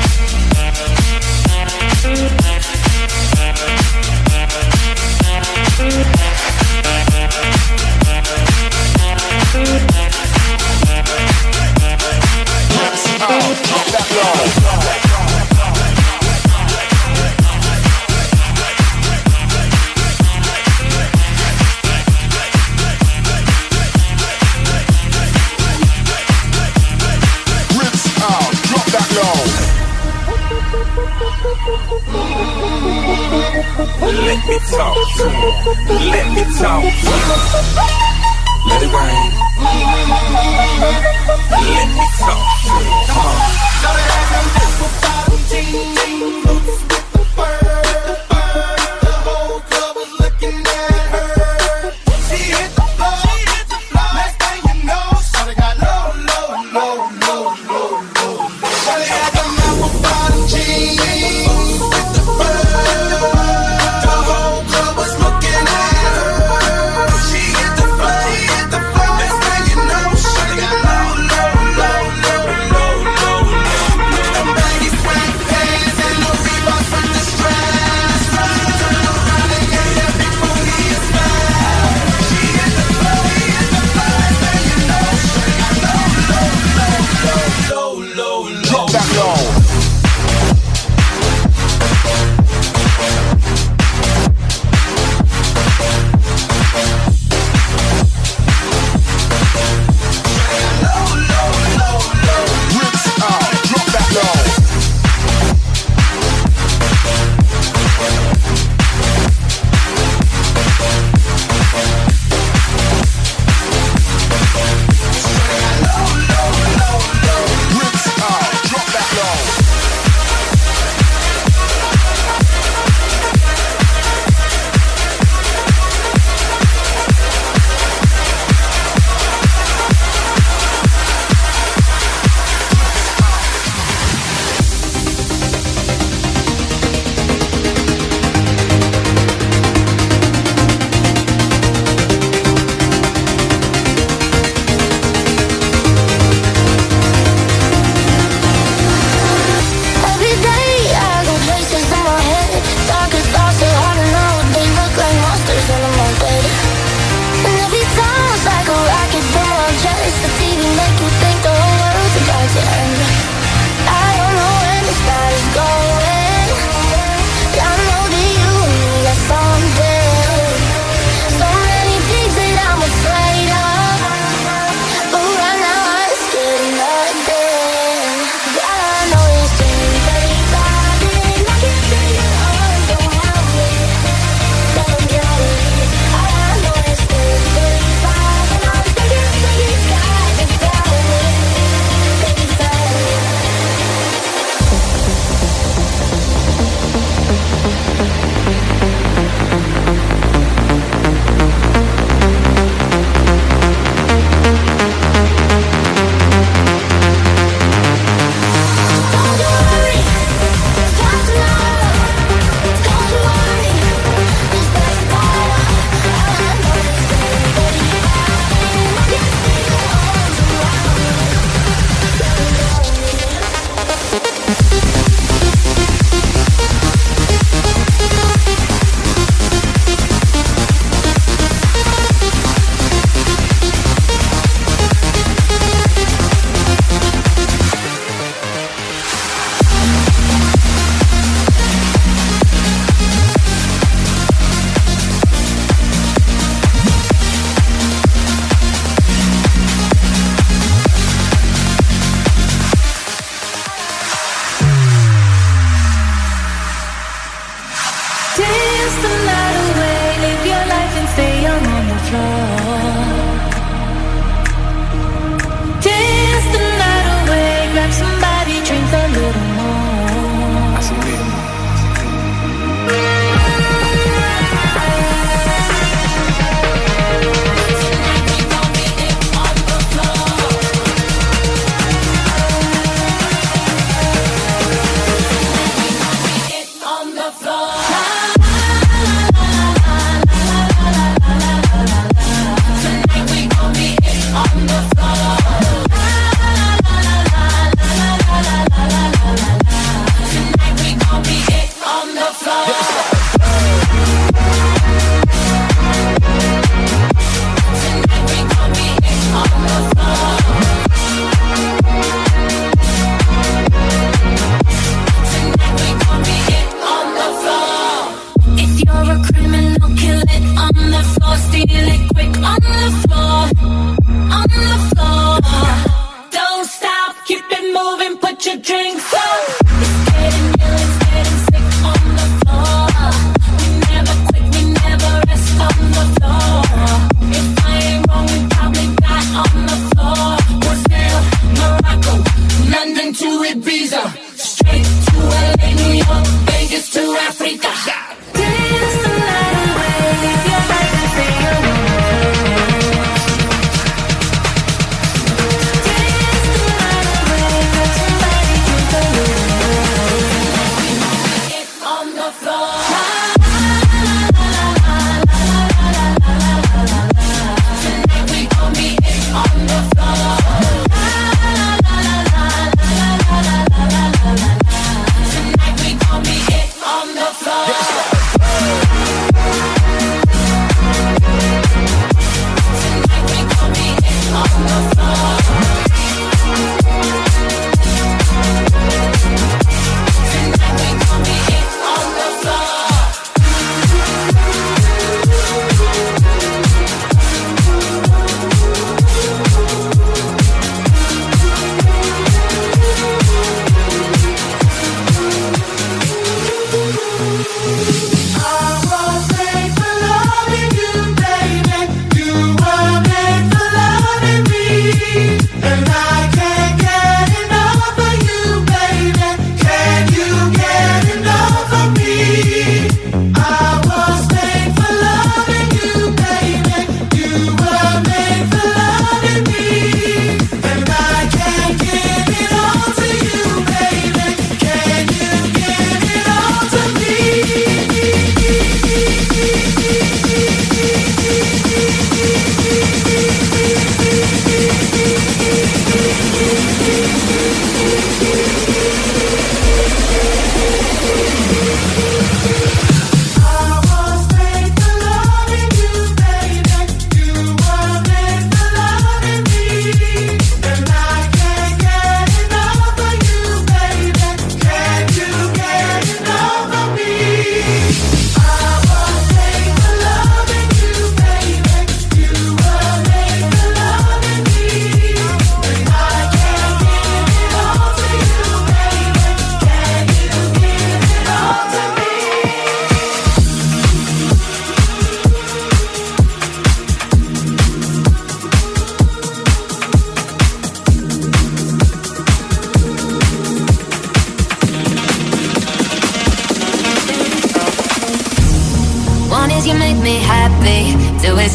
Let me talk to you. Let me talk to you. Let it rain. Let me talk to you. Come on. Shawty had them apple bottom jeans, boots with the fur. The whole club was looking at her. She hit the floor. Next thing you know, shawty got low. Shawty had them apple bottom jeans, boots with the fur. Low.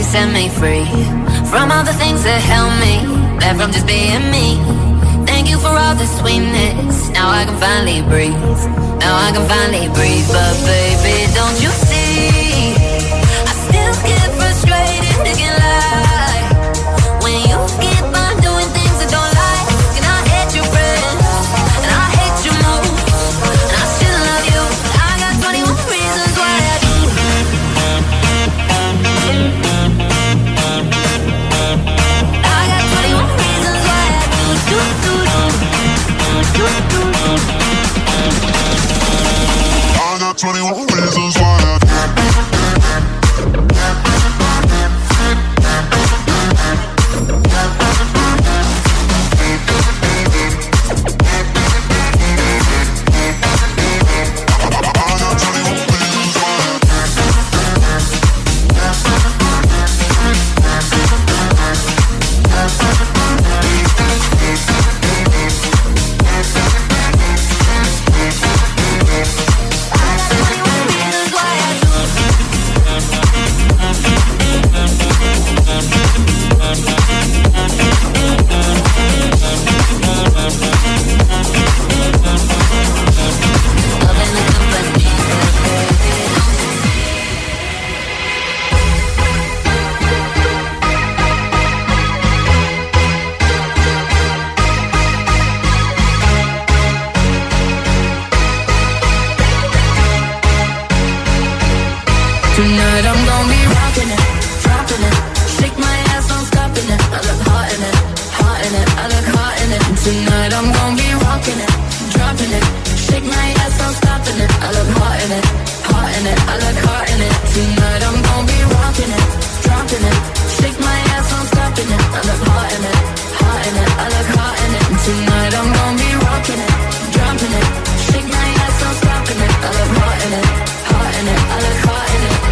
set me free from all the things that held me back from just being me. Thank you for all the sweetness. Now I can finally breathe. Now I can finally breathe. But baby, don't you see? I still get frustrated, thinking like when you keep on doing things I don't like. And I hate your friends, and I hate your moves, and I still love you. I got 21 reasons why I do. I got 21 reasons why I do. I got 21 reasons why I do. Tonight I'm gonna be rocking it, dropping it. Shake my ass, I'm stopping it. I look hot in it, hot in it. I look hot in it. Tonight I'm gonna be rocking it, dropping it. Shake my ass, I'm stopping it. I look hot in it, hot in it. I look hot in it. Tonight I'm gonna be rocking it, dropping it. Shake my ass, I'm stopping it. I look hot in it, hot in it. I look hot in it. Tonight I'm gonna be rocking it, dropping it. Shake my ass, I'm stopping it. I look hot in it, hot in it. I look hot in it.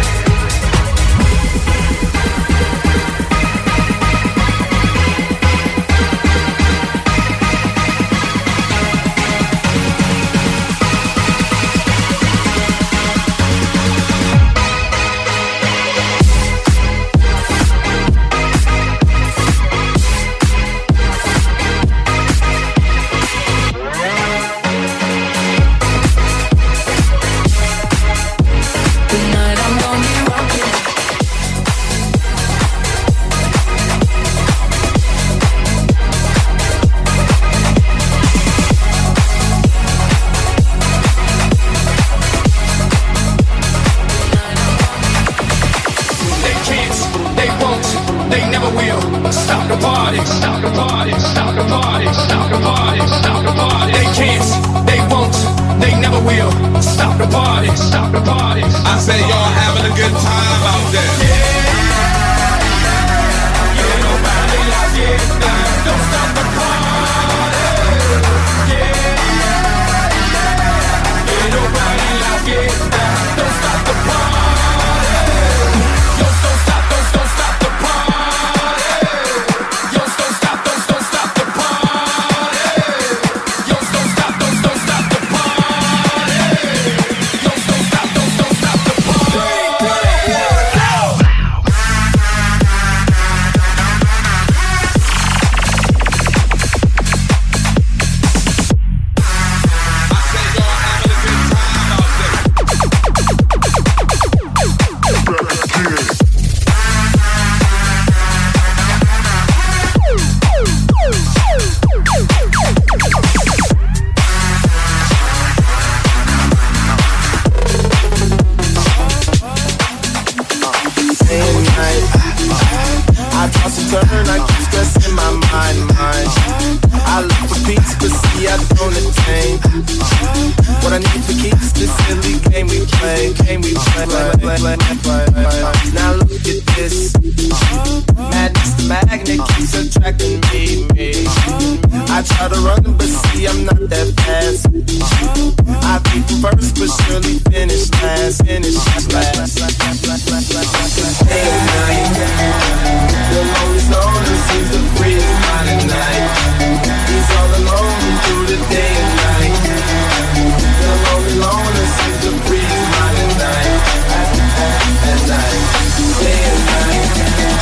Seems to breathe. Day and night.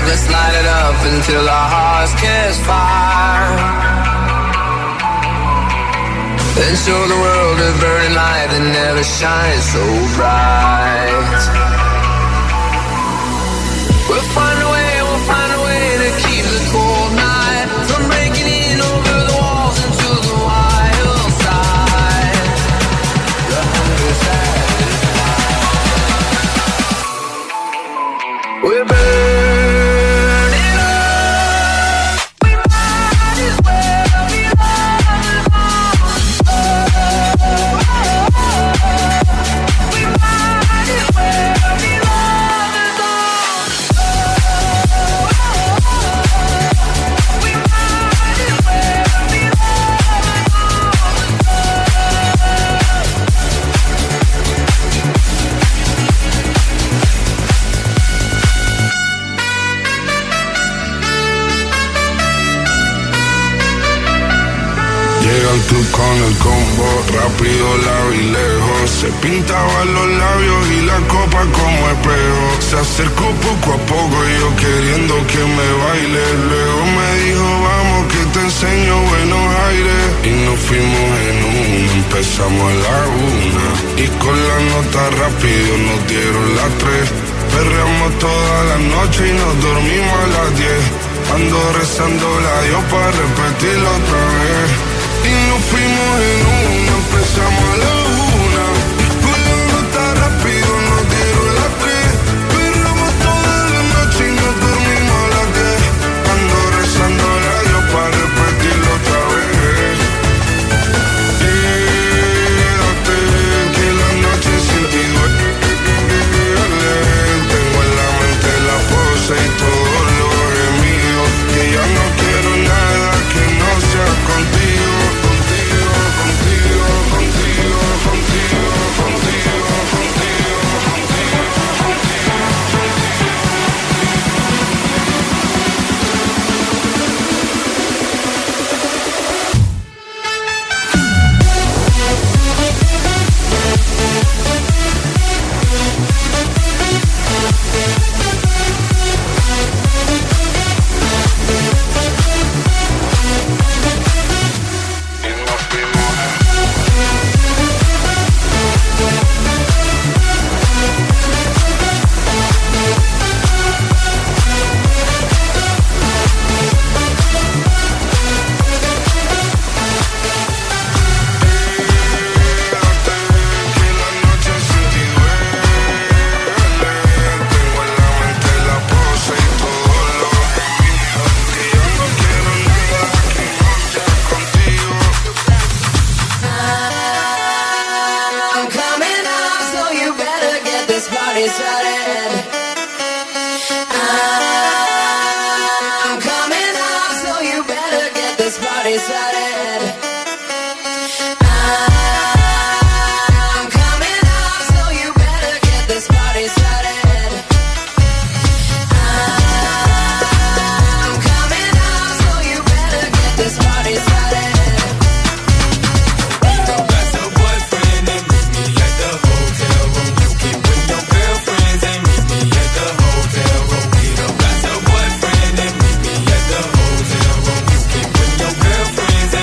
up, let's light it up until our hearts catch fire. Then show the world a burning light that never shines so bright. We'll find a way to keep the cold night from breaking in over the walls into the wild side. The hunger satisfied. We're burning up. We might as well be lovers all. We might as well be lovers all. We might as well be Llega al club con el combo, rápido, largo y lejos. Se pintaban los labios y la copa como espejo. Se acercó poco a poco y yo queriendo que me baile. Luego me dijo, vamos que te enseño buenos aires. Y nos fuimos en una, empezamos a la 1. Y con la nota rápido nos dieron las 3. Perreamos toda la noche y nos dormimos a las 10. Ando rezándola a Dios para repetirlo otra vez. Y nos fuimos en una, empezamos a la 1. Y con la nota rápido nos dieron las 3. Perreamos toda la noche y nos dormimos a las 10. Ando rezándola a Dios para repetirlo otra vez. Quédate, que la noche sin ti duele. Tengo en la mente la pose y todo lo gemido. Que ya no quiero nada que no sea contigo. Girlfriends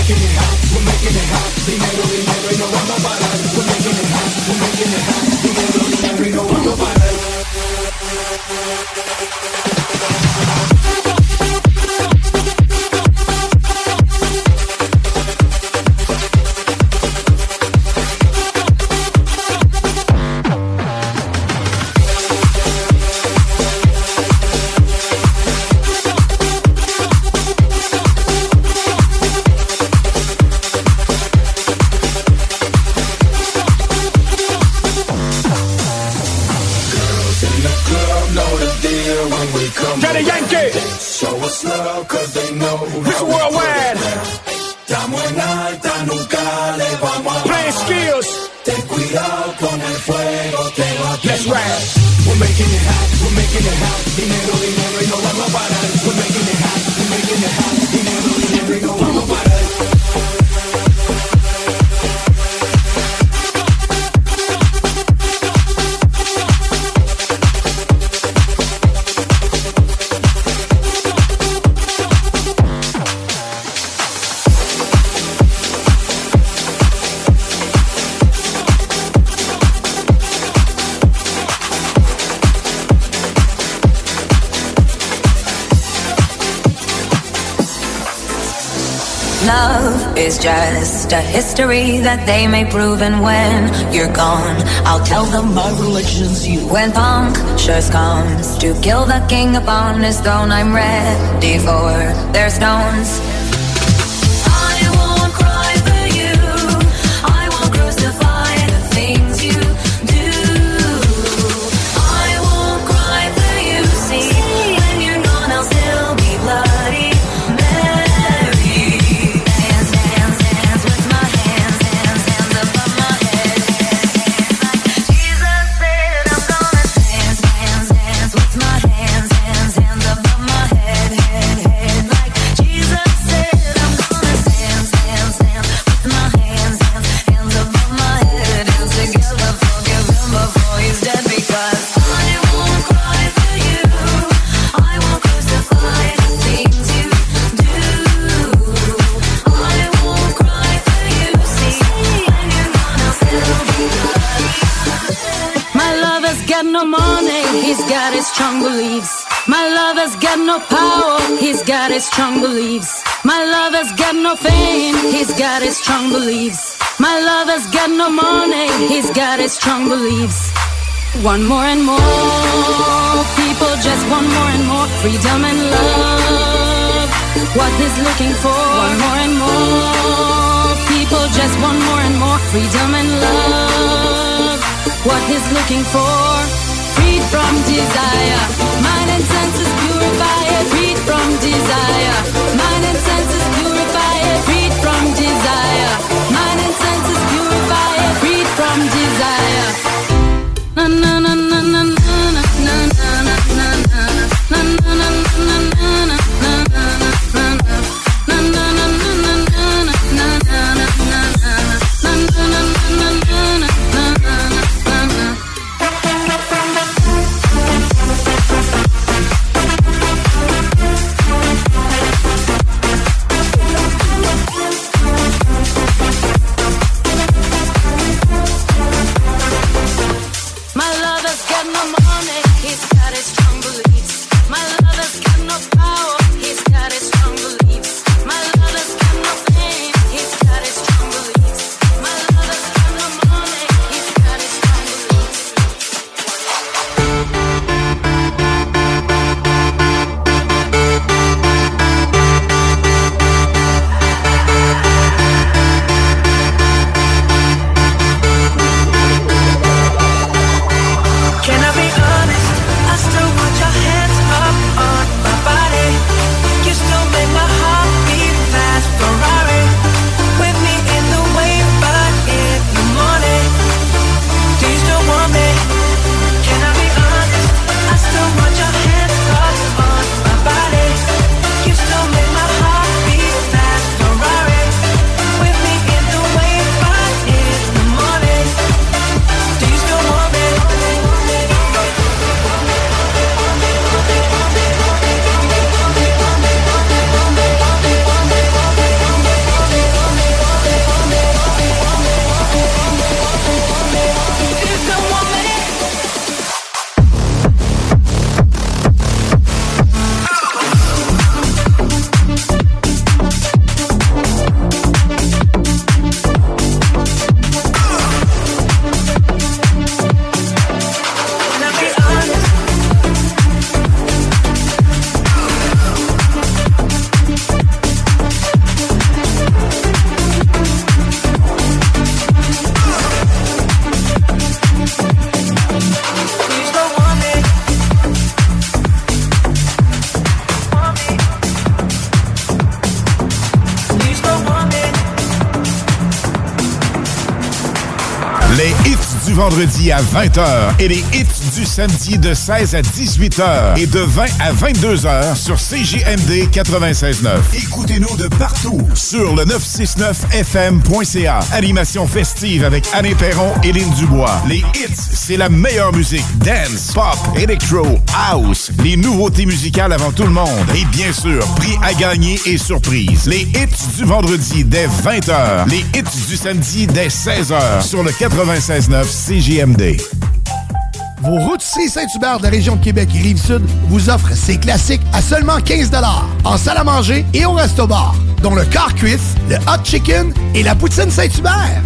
making it hot, we're making it hot. Dinero, dinero y no vamos a parar. We're making it hot, we're making it hot. Dinero, dinero y no vamos a parar. Daddy Yankee! Show us love, cause they know. This worldwide! Estamos en alta, nunca le vamos a Playing skills! Ten cuidado con el fuego, te va a quemar. Let's ride! We're making it hot, we're making it hot. Dinero, dinero y no vamos a parar. We're making it hot, we're making it hot. Dinero, dinero y no vamos a parar. Love is just a history that they may prove, and when you're gone, I'll tell them my religion's you. When punctures comes to kill the king upon his throne, I'm ready for their stones. I won't cry for you, I won't crucify the things you do. I won't cry for you, see, when you're gone I'll still be bloody. No money, he's got his strong beliefs. My lover's got no power, he's got his strong beliefs. My lover's got no fame, he's got his strong beliefs. My lover's got no money, he's got his strong beliefs. One more and more, people just want more and more freedom and love. What he's looking for, one more and more, people just want more and more freedom and love. What he's looking for, freed from desire, mind and senses purify it, freed from desire, mind and senses purify it, freed from desire, mind and senses purify it, freed from desire. Na na na na na na na na na na na na na Les hits du vendredi à 20h et les hits du samedi de 16 à 18h et de 20 à 22h sur CJMD 96.9. Écoutez-nous de partout sur le 969fm.ca. Animation festive avec Anne Perron et Lynn Dubois. Les hits, c'est la meilleure musique. Dance, pop, electro, house. Les nouveautés musicales avant tout le monde. Et bien sûr, prix à gagner et surprise. Les hits du vendredi dès 20h. Les hits du samedi dès 16h sur le 96.9 CJMD. Vos rôtisseries Saint-Hubert de la région de Québec et Rive-Sud vous offrent ces classiques à seulement 15 $ en salle à manger et au resto-bar, dont le quart cuisse, le hot chicken et la poutine Saint-Hubert.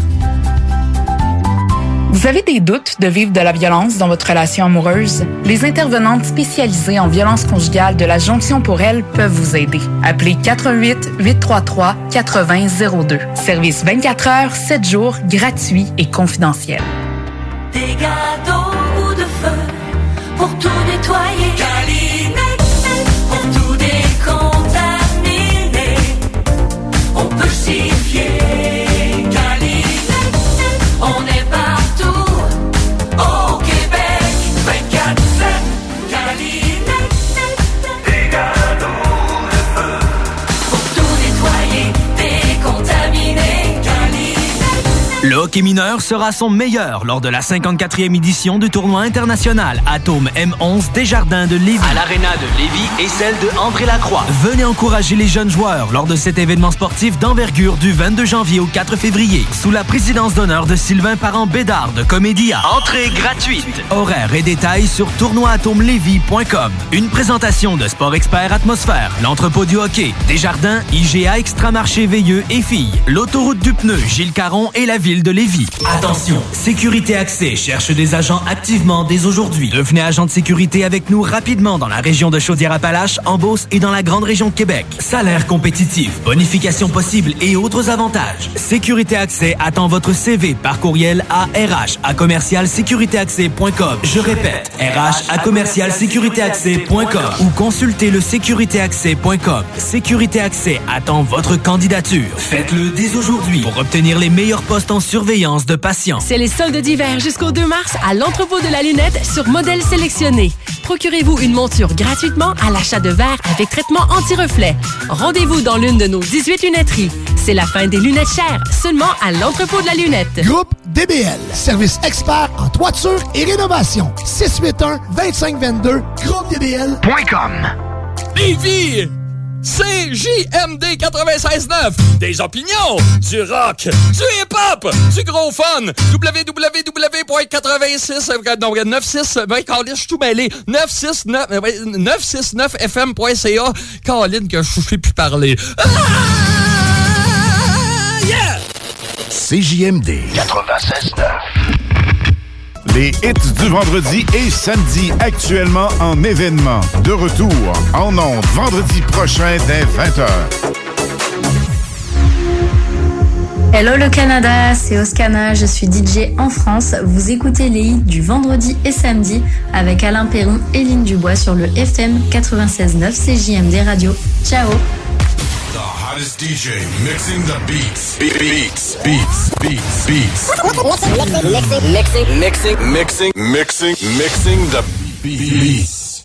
Vous avez des doutes de vivre de la violence dans votre relation amoureuse? Les intervenantes spécialisées en violence conjugale de la Jonction pour elle peuvent vous aider. Appelez 418-833-8002. Service 24 heures, 7 jours, gratuit et confidentiel. Des gâteaux ou de feu pour tout nettoyer. Calinette, pour tout décontaminer. On peut s'y fier. Calinette, on est partout au Québec. 24/7. Calinette, des gâteaux de feu pour tout nettoyer, décontaminer. Le hockey mineur sera son meilleur lors de la 54e édition du tournoi international Atome M11 Desjardins de Lévis. À l'aréna de Lévis et celle de André-Lacroix. Venez encourager les jeunes joueurs lors de cet événement sportif d'envergure du 22 janvier au 4 février, sous la présidence d'honneur de Sylvain Parent-Bédard de Comédia. Entrée gratuite. Horaires et détails sur tournoi-atomelevis.com. Une présentation de Sport Expert Atmosphère, l'entrepôt du hockey, Desjardins, IGA Extramarché Veilleux et Filles, l'autoroute du pneu, Gilles Caron et la ville de Lévis. Attention, Sécurité Accès cherche des agents activement dès aujourd'hui. Devenez agent de sécurité avec nous rapidement dans la région de Chaudière-Appalaches, en Beauce et dans la grande région de Québec. Salaire compétitif, bonification possible et autres avantages. Sécurité Accès attend votre CV par courriel à rh@commercialsécuritéaccès.com. Je répète, rh@commercialsécuritéaccès.com ou consultez le sécuritéaccès.com. Sécurité Accès attend votre candidature. Faites-le dès aujourd'hui pour obtenir les meilleurs postes en surveillance de patients. C'est les soldes d'hiver jusqu'au 2 mars à l'entrepôt de la lunette sur modèle sélectionné. Procurez-vous une monture gratuitement à l'achat de verres avec traitement anti-reflet. Rendez-vous dans l'une de nos 18 lunetteries. C'est la fin des lunettes chères, seulement à l'entrepôt de la lunette. Groupe DBL, service expert en toiture et rénovation. 681-2522, groupedbl.com. Lévis! CJMD 96.9. Des opinions, du rock, du hip-hop, du gros fun. www.86... Non, 96... Ben, Caroline, je suis tout mêlé. 969fm.ca. Caroline, que je ne sais plus parler. Ah! Yeah! CJMD 96.9. Les hits du vendredi et samedi actuellement en événement. De retour en ondes vendredi prochain dès 20h. Hello le Canada, c'est Oscana, je suis DJ en France. Vous écoutez les hits du vendredi et samedi avec Alain Perron et Lynn Dubois sur le FM 96.9 CJMD Radio. Ciao! Hottest DJ mixing the beats. Beats. Mixing the beats.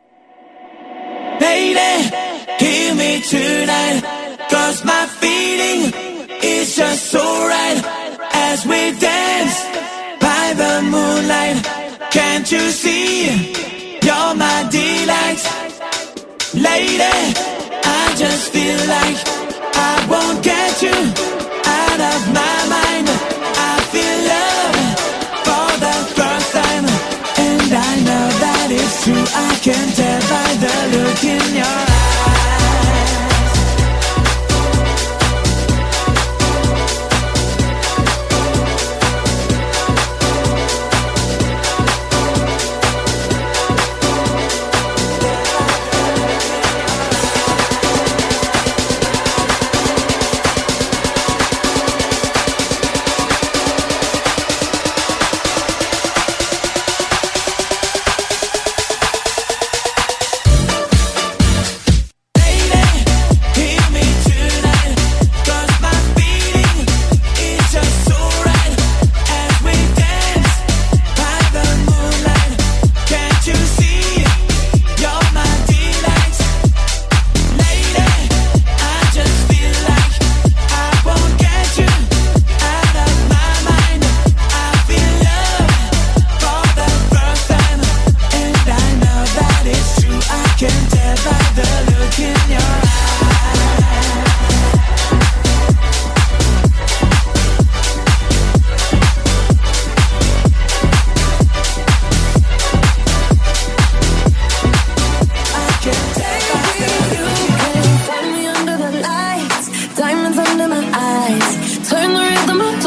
Lady, hear me tonight, 'cause my feeling is just so right. As we dance by the moonlight, can't you see, you're my delight. Lady, I just feel like I won't get you out of my mind. I feel love for the first time, and I know that it's true. I can tell by the look in your eyes.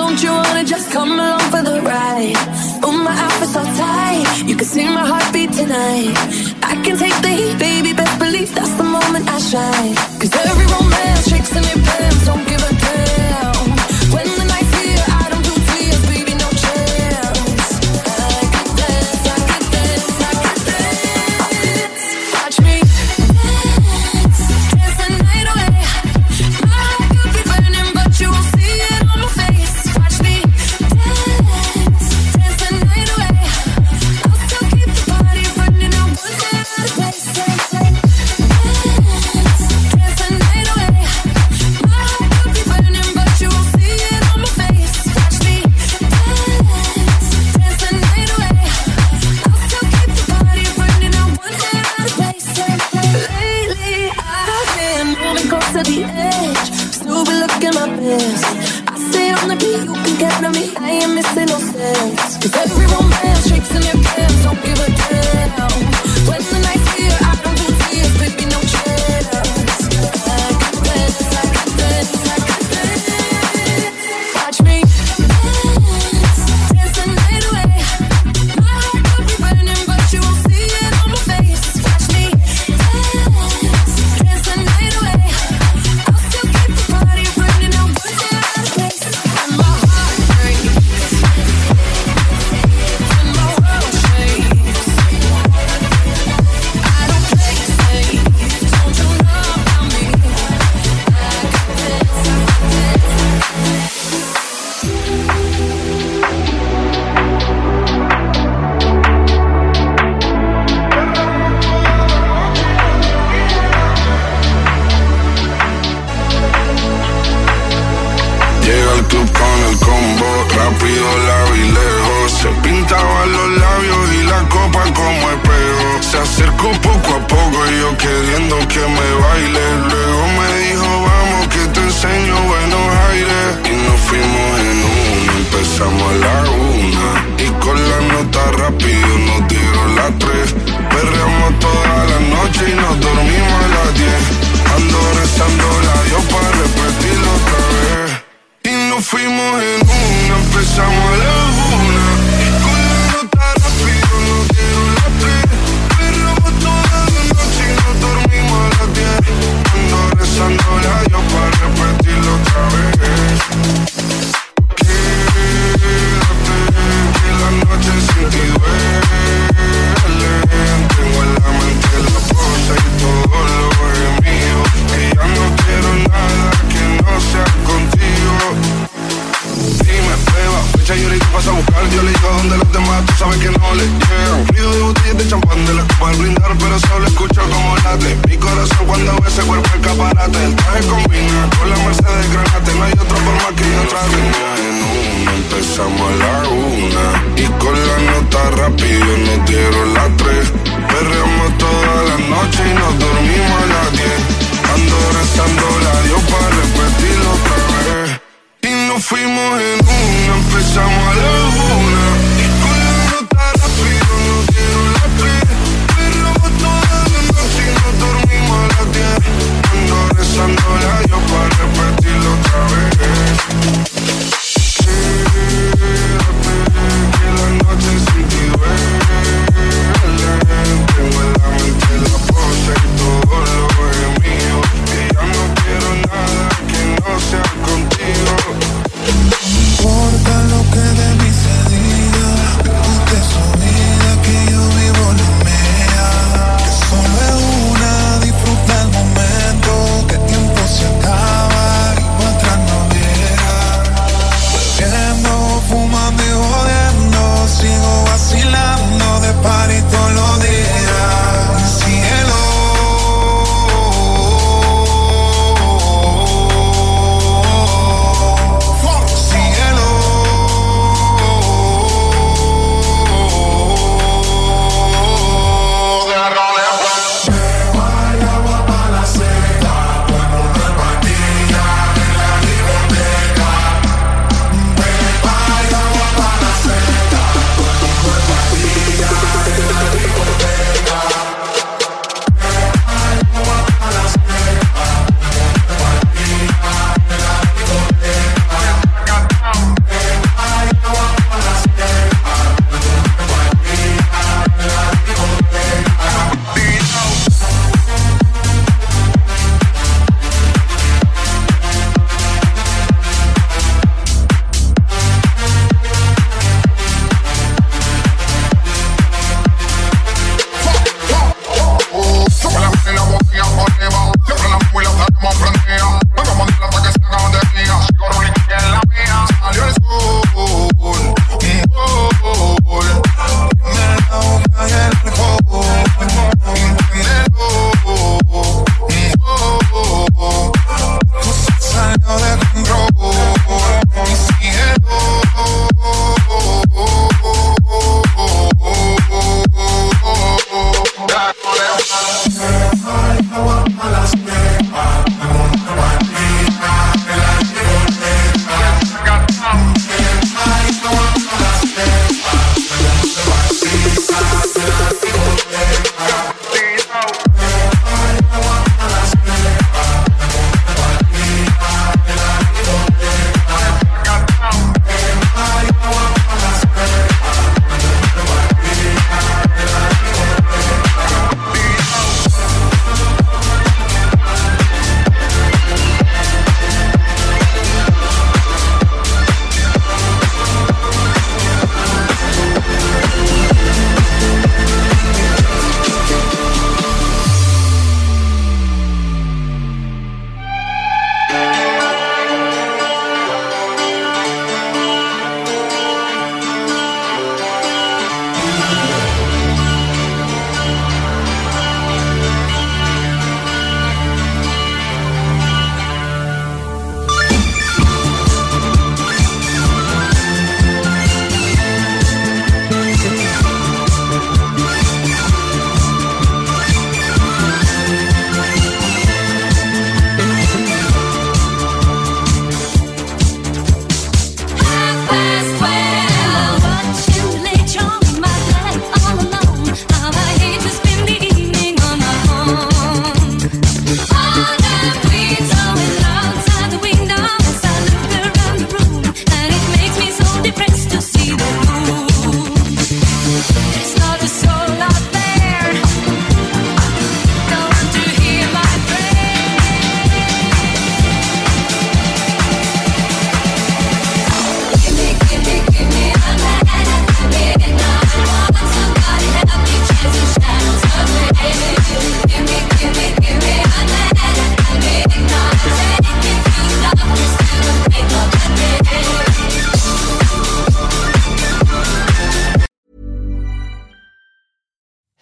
Don't you wanna just come along for the ride? Oh, my outfit's so tight, you can see my heartbeat tonight. I can take the heat, baby, best believe that's the moment I shine. Cause every romance shakes in your pants, don't give a damn. When the night's here, I don't do tears, baby, no chance. I could dance, I could dance, I could dance. Watch me dance, dance the night away. My heart could be burning, but you won't see it on my face. Watch me dance, dance the night away. I'll still keep the party running, I won't get out of place. Dance the night away. My heart could be burning, but you won't see it on my face. Watch me dance, dance the night away. I'll still keep the party running, I won't get out of place. Lately I've been moving close to the edge, still be looking my best. I stay on the beat, you can count on me, I ain't missing no steps. Cause every romance shakes in your pants, don't give a damn. When the night's here, I don't do tears, baby, no chance. I can dance, I can dance, I can dance. Watch me dance, dance the night away. My heart could be burning, but you won't see it on my face. Watch me dance, dance the night away. I'll still keep the party running, I won't get out of place. When my heart breaks, when my world shakes, I don't play safe, don't you know about me? I can dance, I can Llega al club con el combo, rápido la vi lejos. Se pintaba los labios y la copa como espejo. Se acercó poco a poco y yo queriendo que me baile. Luego me dijo vamos que te enseño buenos aires. Y nos fuimos en una, empezamos a la 1. Y con la nota rápido nos dieron las 3. Perreamos toda la noche y nos dormimos a las 10. Ando rezando la Dios para repetirlo otra vez. Y nos fuimos en una, empezamos a la 1. Y con la nota rápido nos dieron las 3. Perreamos toda la noche y nos dormimos a las 10. Ando rezando la Dios para repetirlo otra vez. Quédate, que la noche sin ti duele. Tengo en la mente la cosa y todo lo es mío. Que ya no quiero nada que no sea contigo. Dime, prueba, fecha y ahorita vas a buscar. Yo le digo donde los demás, tú sabes que no le llegan. Ruido de botellas de champán de la copa al brindar, pero solo escucho como late mi corazón cuando ve ese cuerpo escaparate. El traje combina con la Mercedes Granate. No hay otra forma que yo trate. En una, empezamos a la 1. Y con la nota rápido nos dieron las 3. Perreamos toda la noche y nos dormimos a las 10. Ando rezando la Dios para repetirlo otra vez. Y nos fuimos en una, empezamos a la 1. Y con la nota rápido nos dieron las 3. Perreamos toda la noche y nos dormimos a las 10. Ando rezando la Dios para repetirlo otra vez. Quédate, que la noche sin ti duele. Tengo en la mente la pose y todo lo es mío. Que ya no quiero nada que no sea contigo. Importa lo que de mí se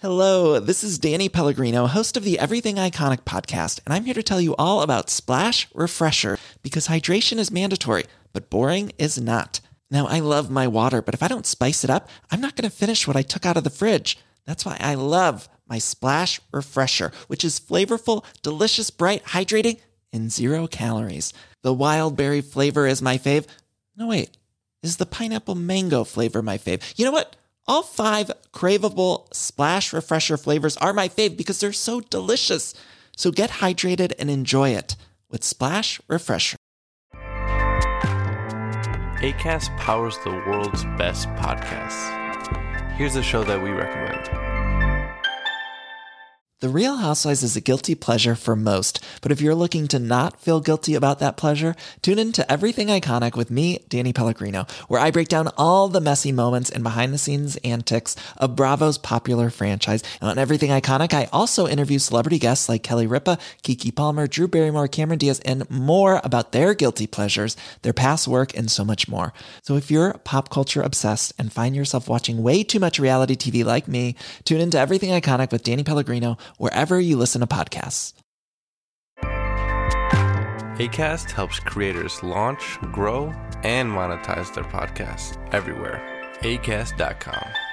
Hello, this is Danny Pellegrino, host of the Everything Iconic podcast, and I'm here to tell you all about Splash Refresher, because hydration is mandatory, but boring is not. Now, I love my water, but if I don't spice it up, I'm not going to finish what I took out of the fridge. That's why I love my Splash Refresher, which is flavorful, delicious, bright, hydrating, and 0 calories. The wild berry flavor is my fave. No, wait, is the pineapple mango flavor my fave? You know what? All 5 craveable Splash Refresher flavors are my fave because they're so delicious. So get hydrated and enjoy it with Splash Refresher. Acast powers the world's best podcasts. Here's a show that we recommend. The Real Housewives is a guilty pleasure for most, but if you're looking to not feel guilty about that pleasure, tune in to Everything Iconic with me, Danny Pellegrino, where I break down all the messy moments and behind-the-scenes antics of Bravo's popular franchise. And on Everything Iconic, I also interview celebrity guests like Kelly Ripa, Keke Palmer, Drew Barrymore, Cameron Diaz, and more about their guilty pleasures, their past work, and so much more. So if you're pop culture obsessed and find yourself watching way too much reality TV like me, tune in to Everything Iconic with Danny Pellegrino, wherever you listen to podcasts. Acast helps creators launch, grow, and monetize their podcasts everywhere. Acast.com.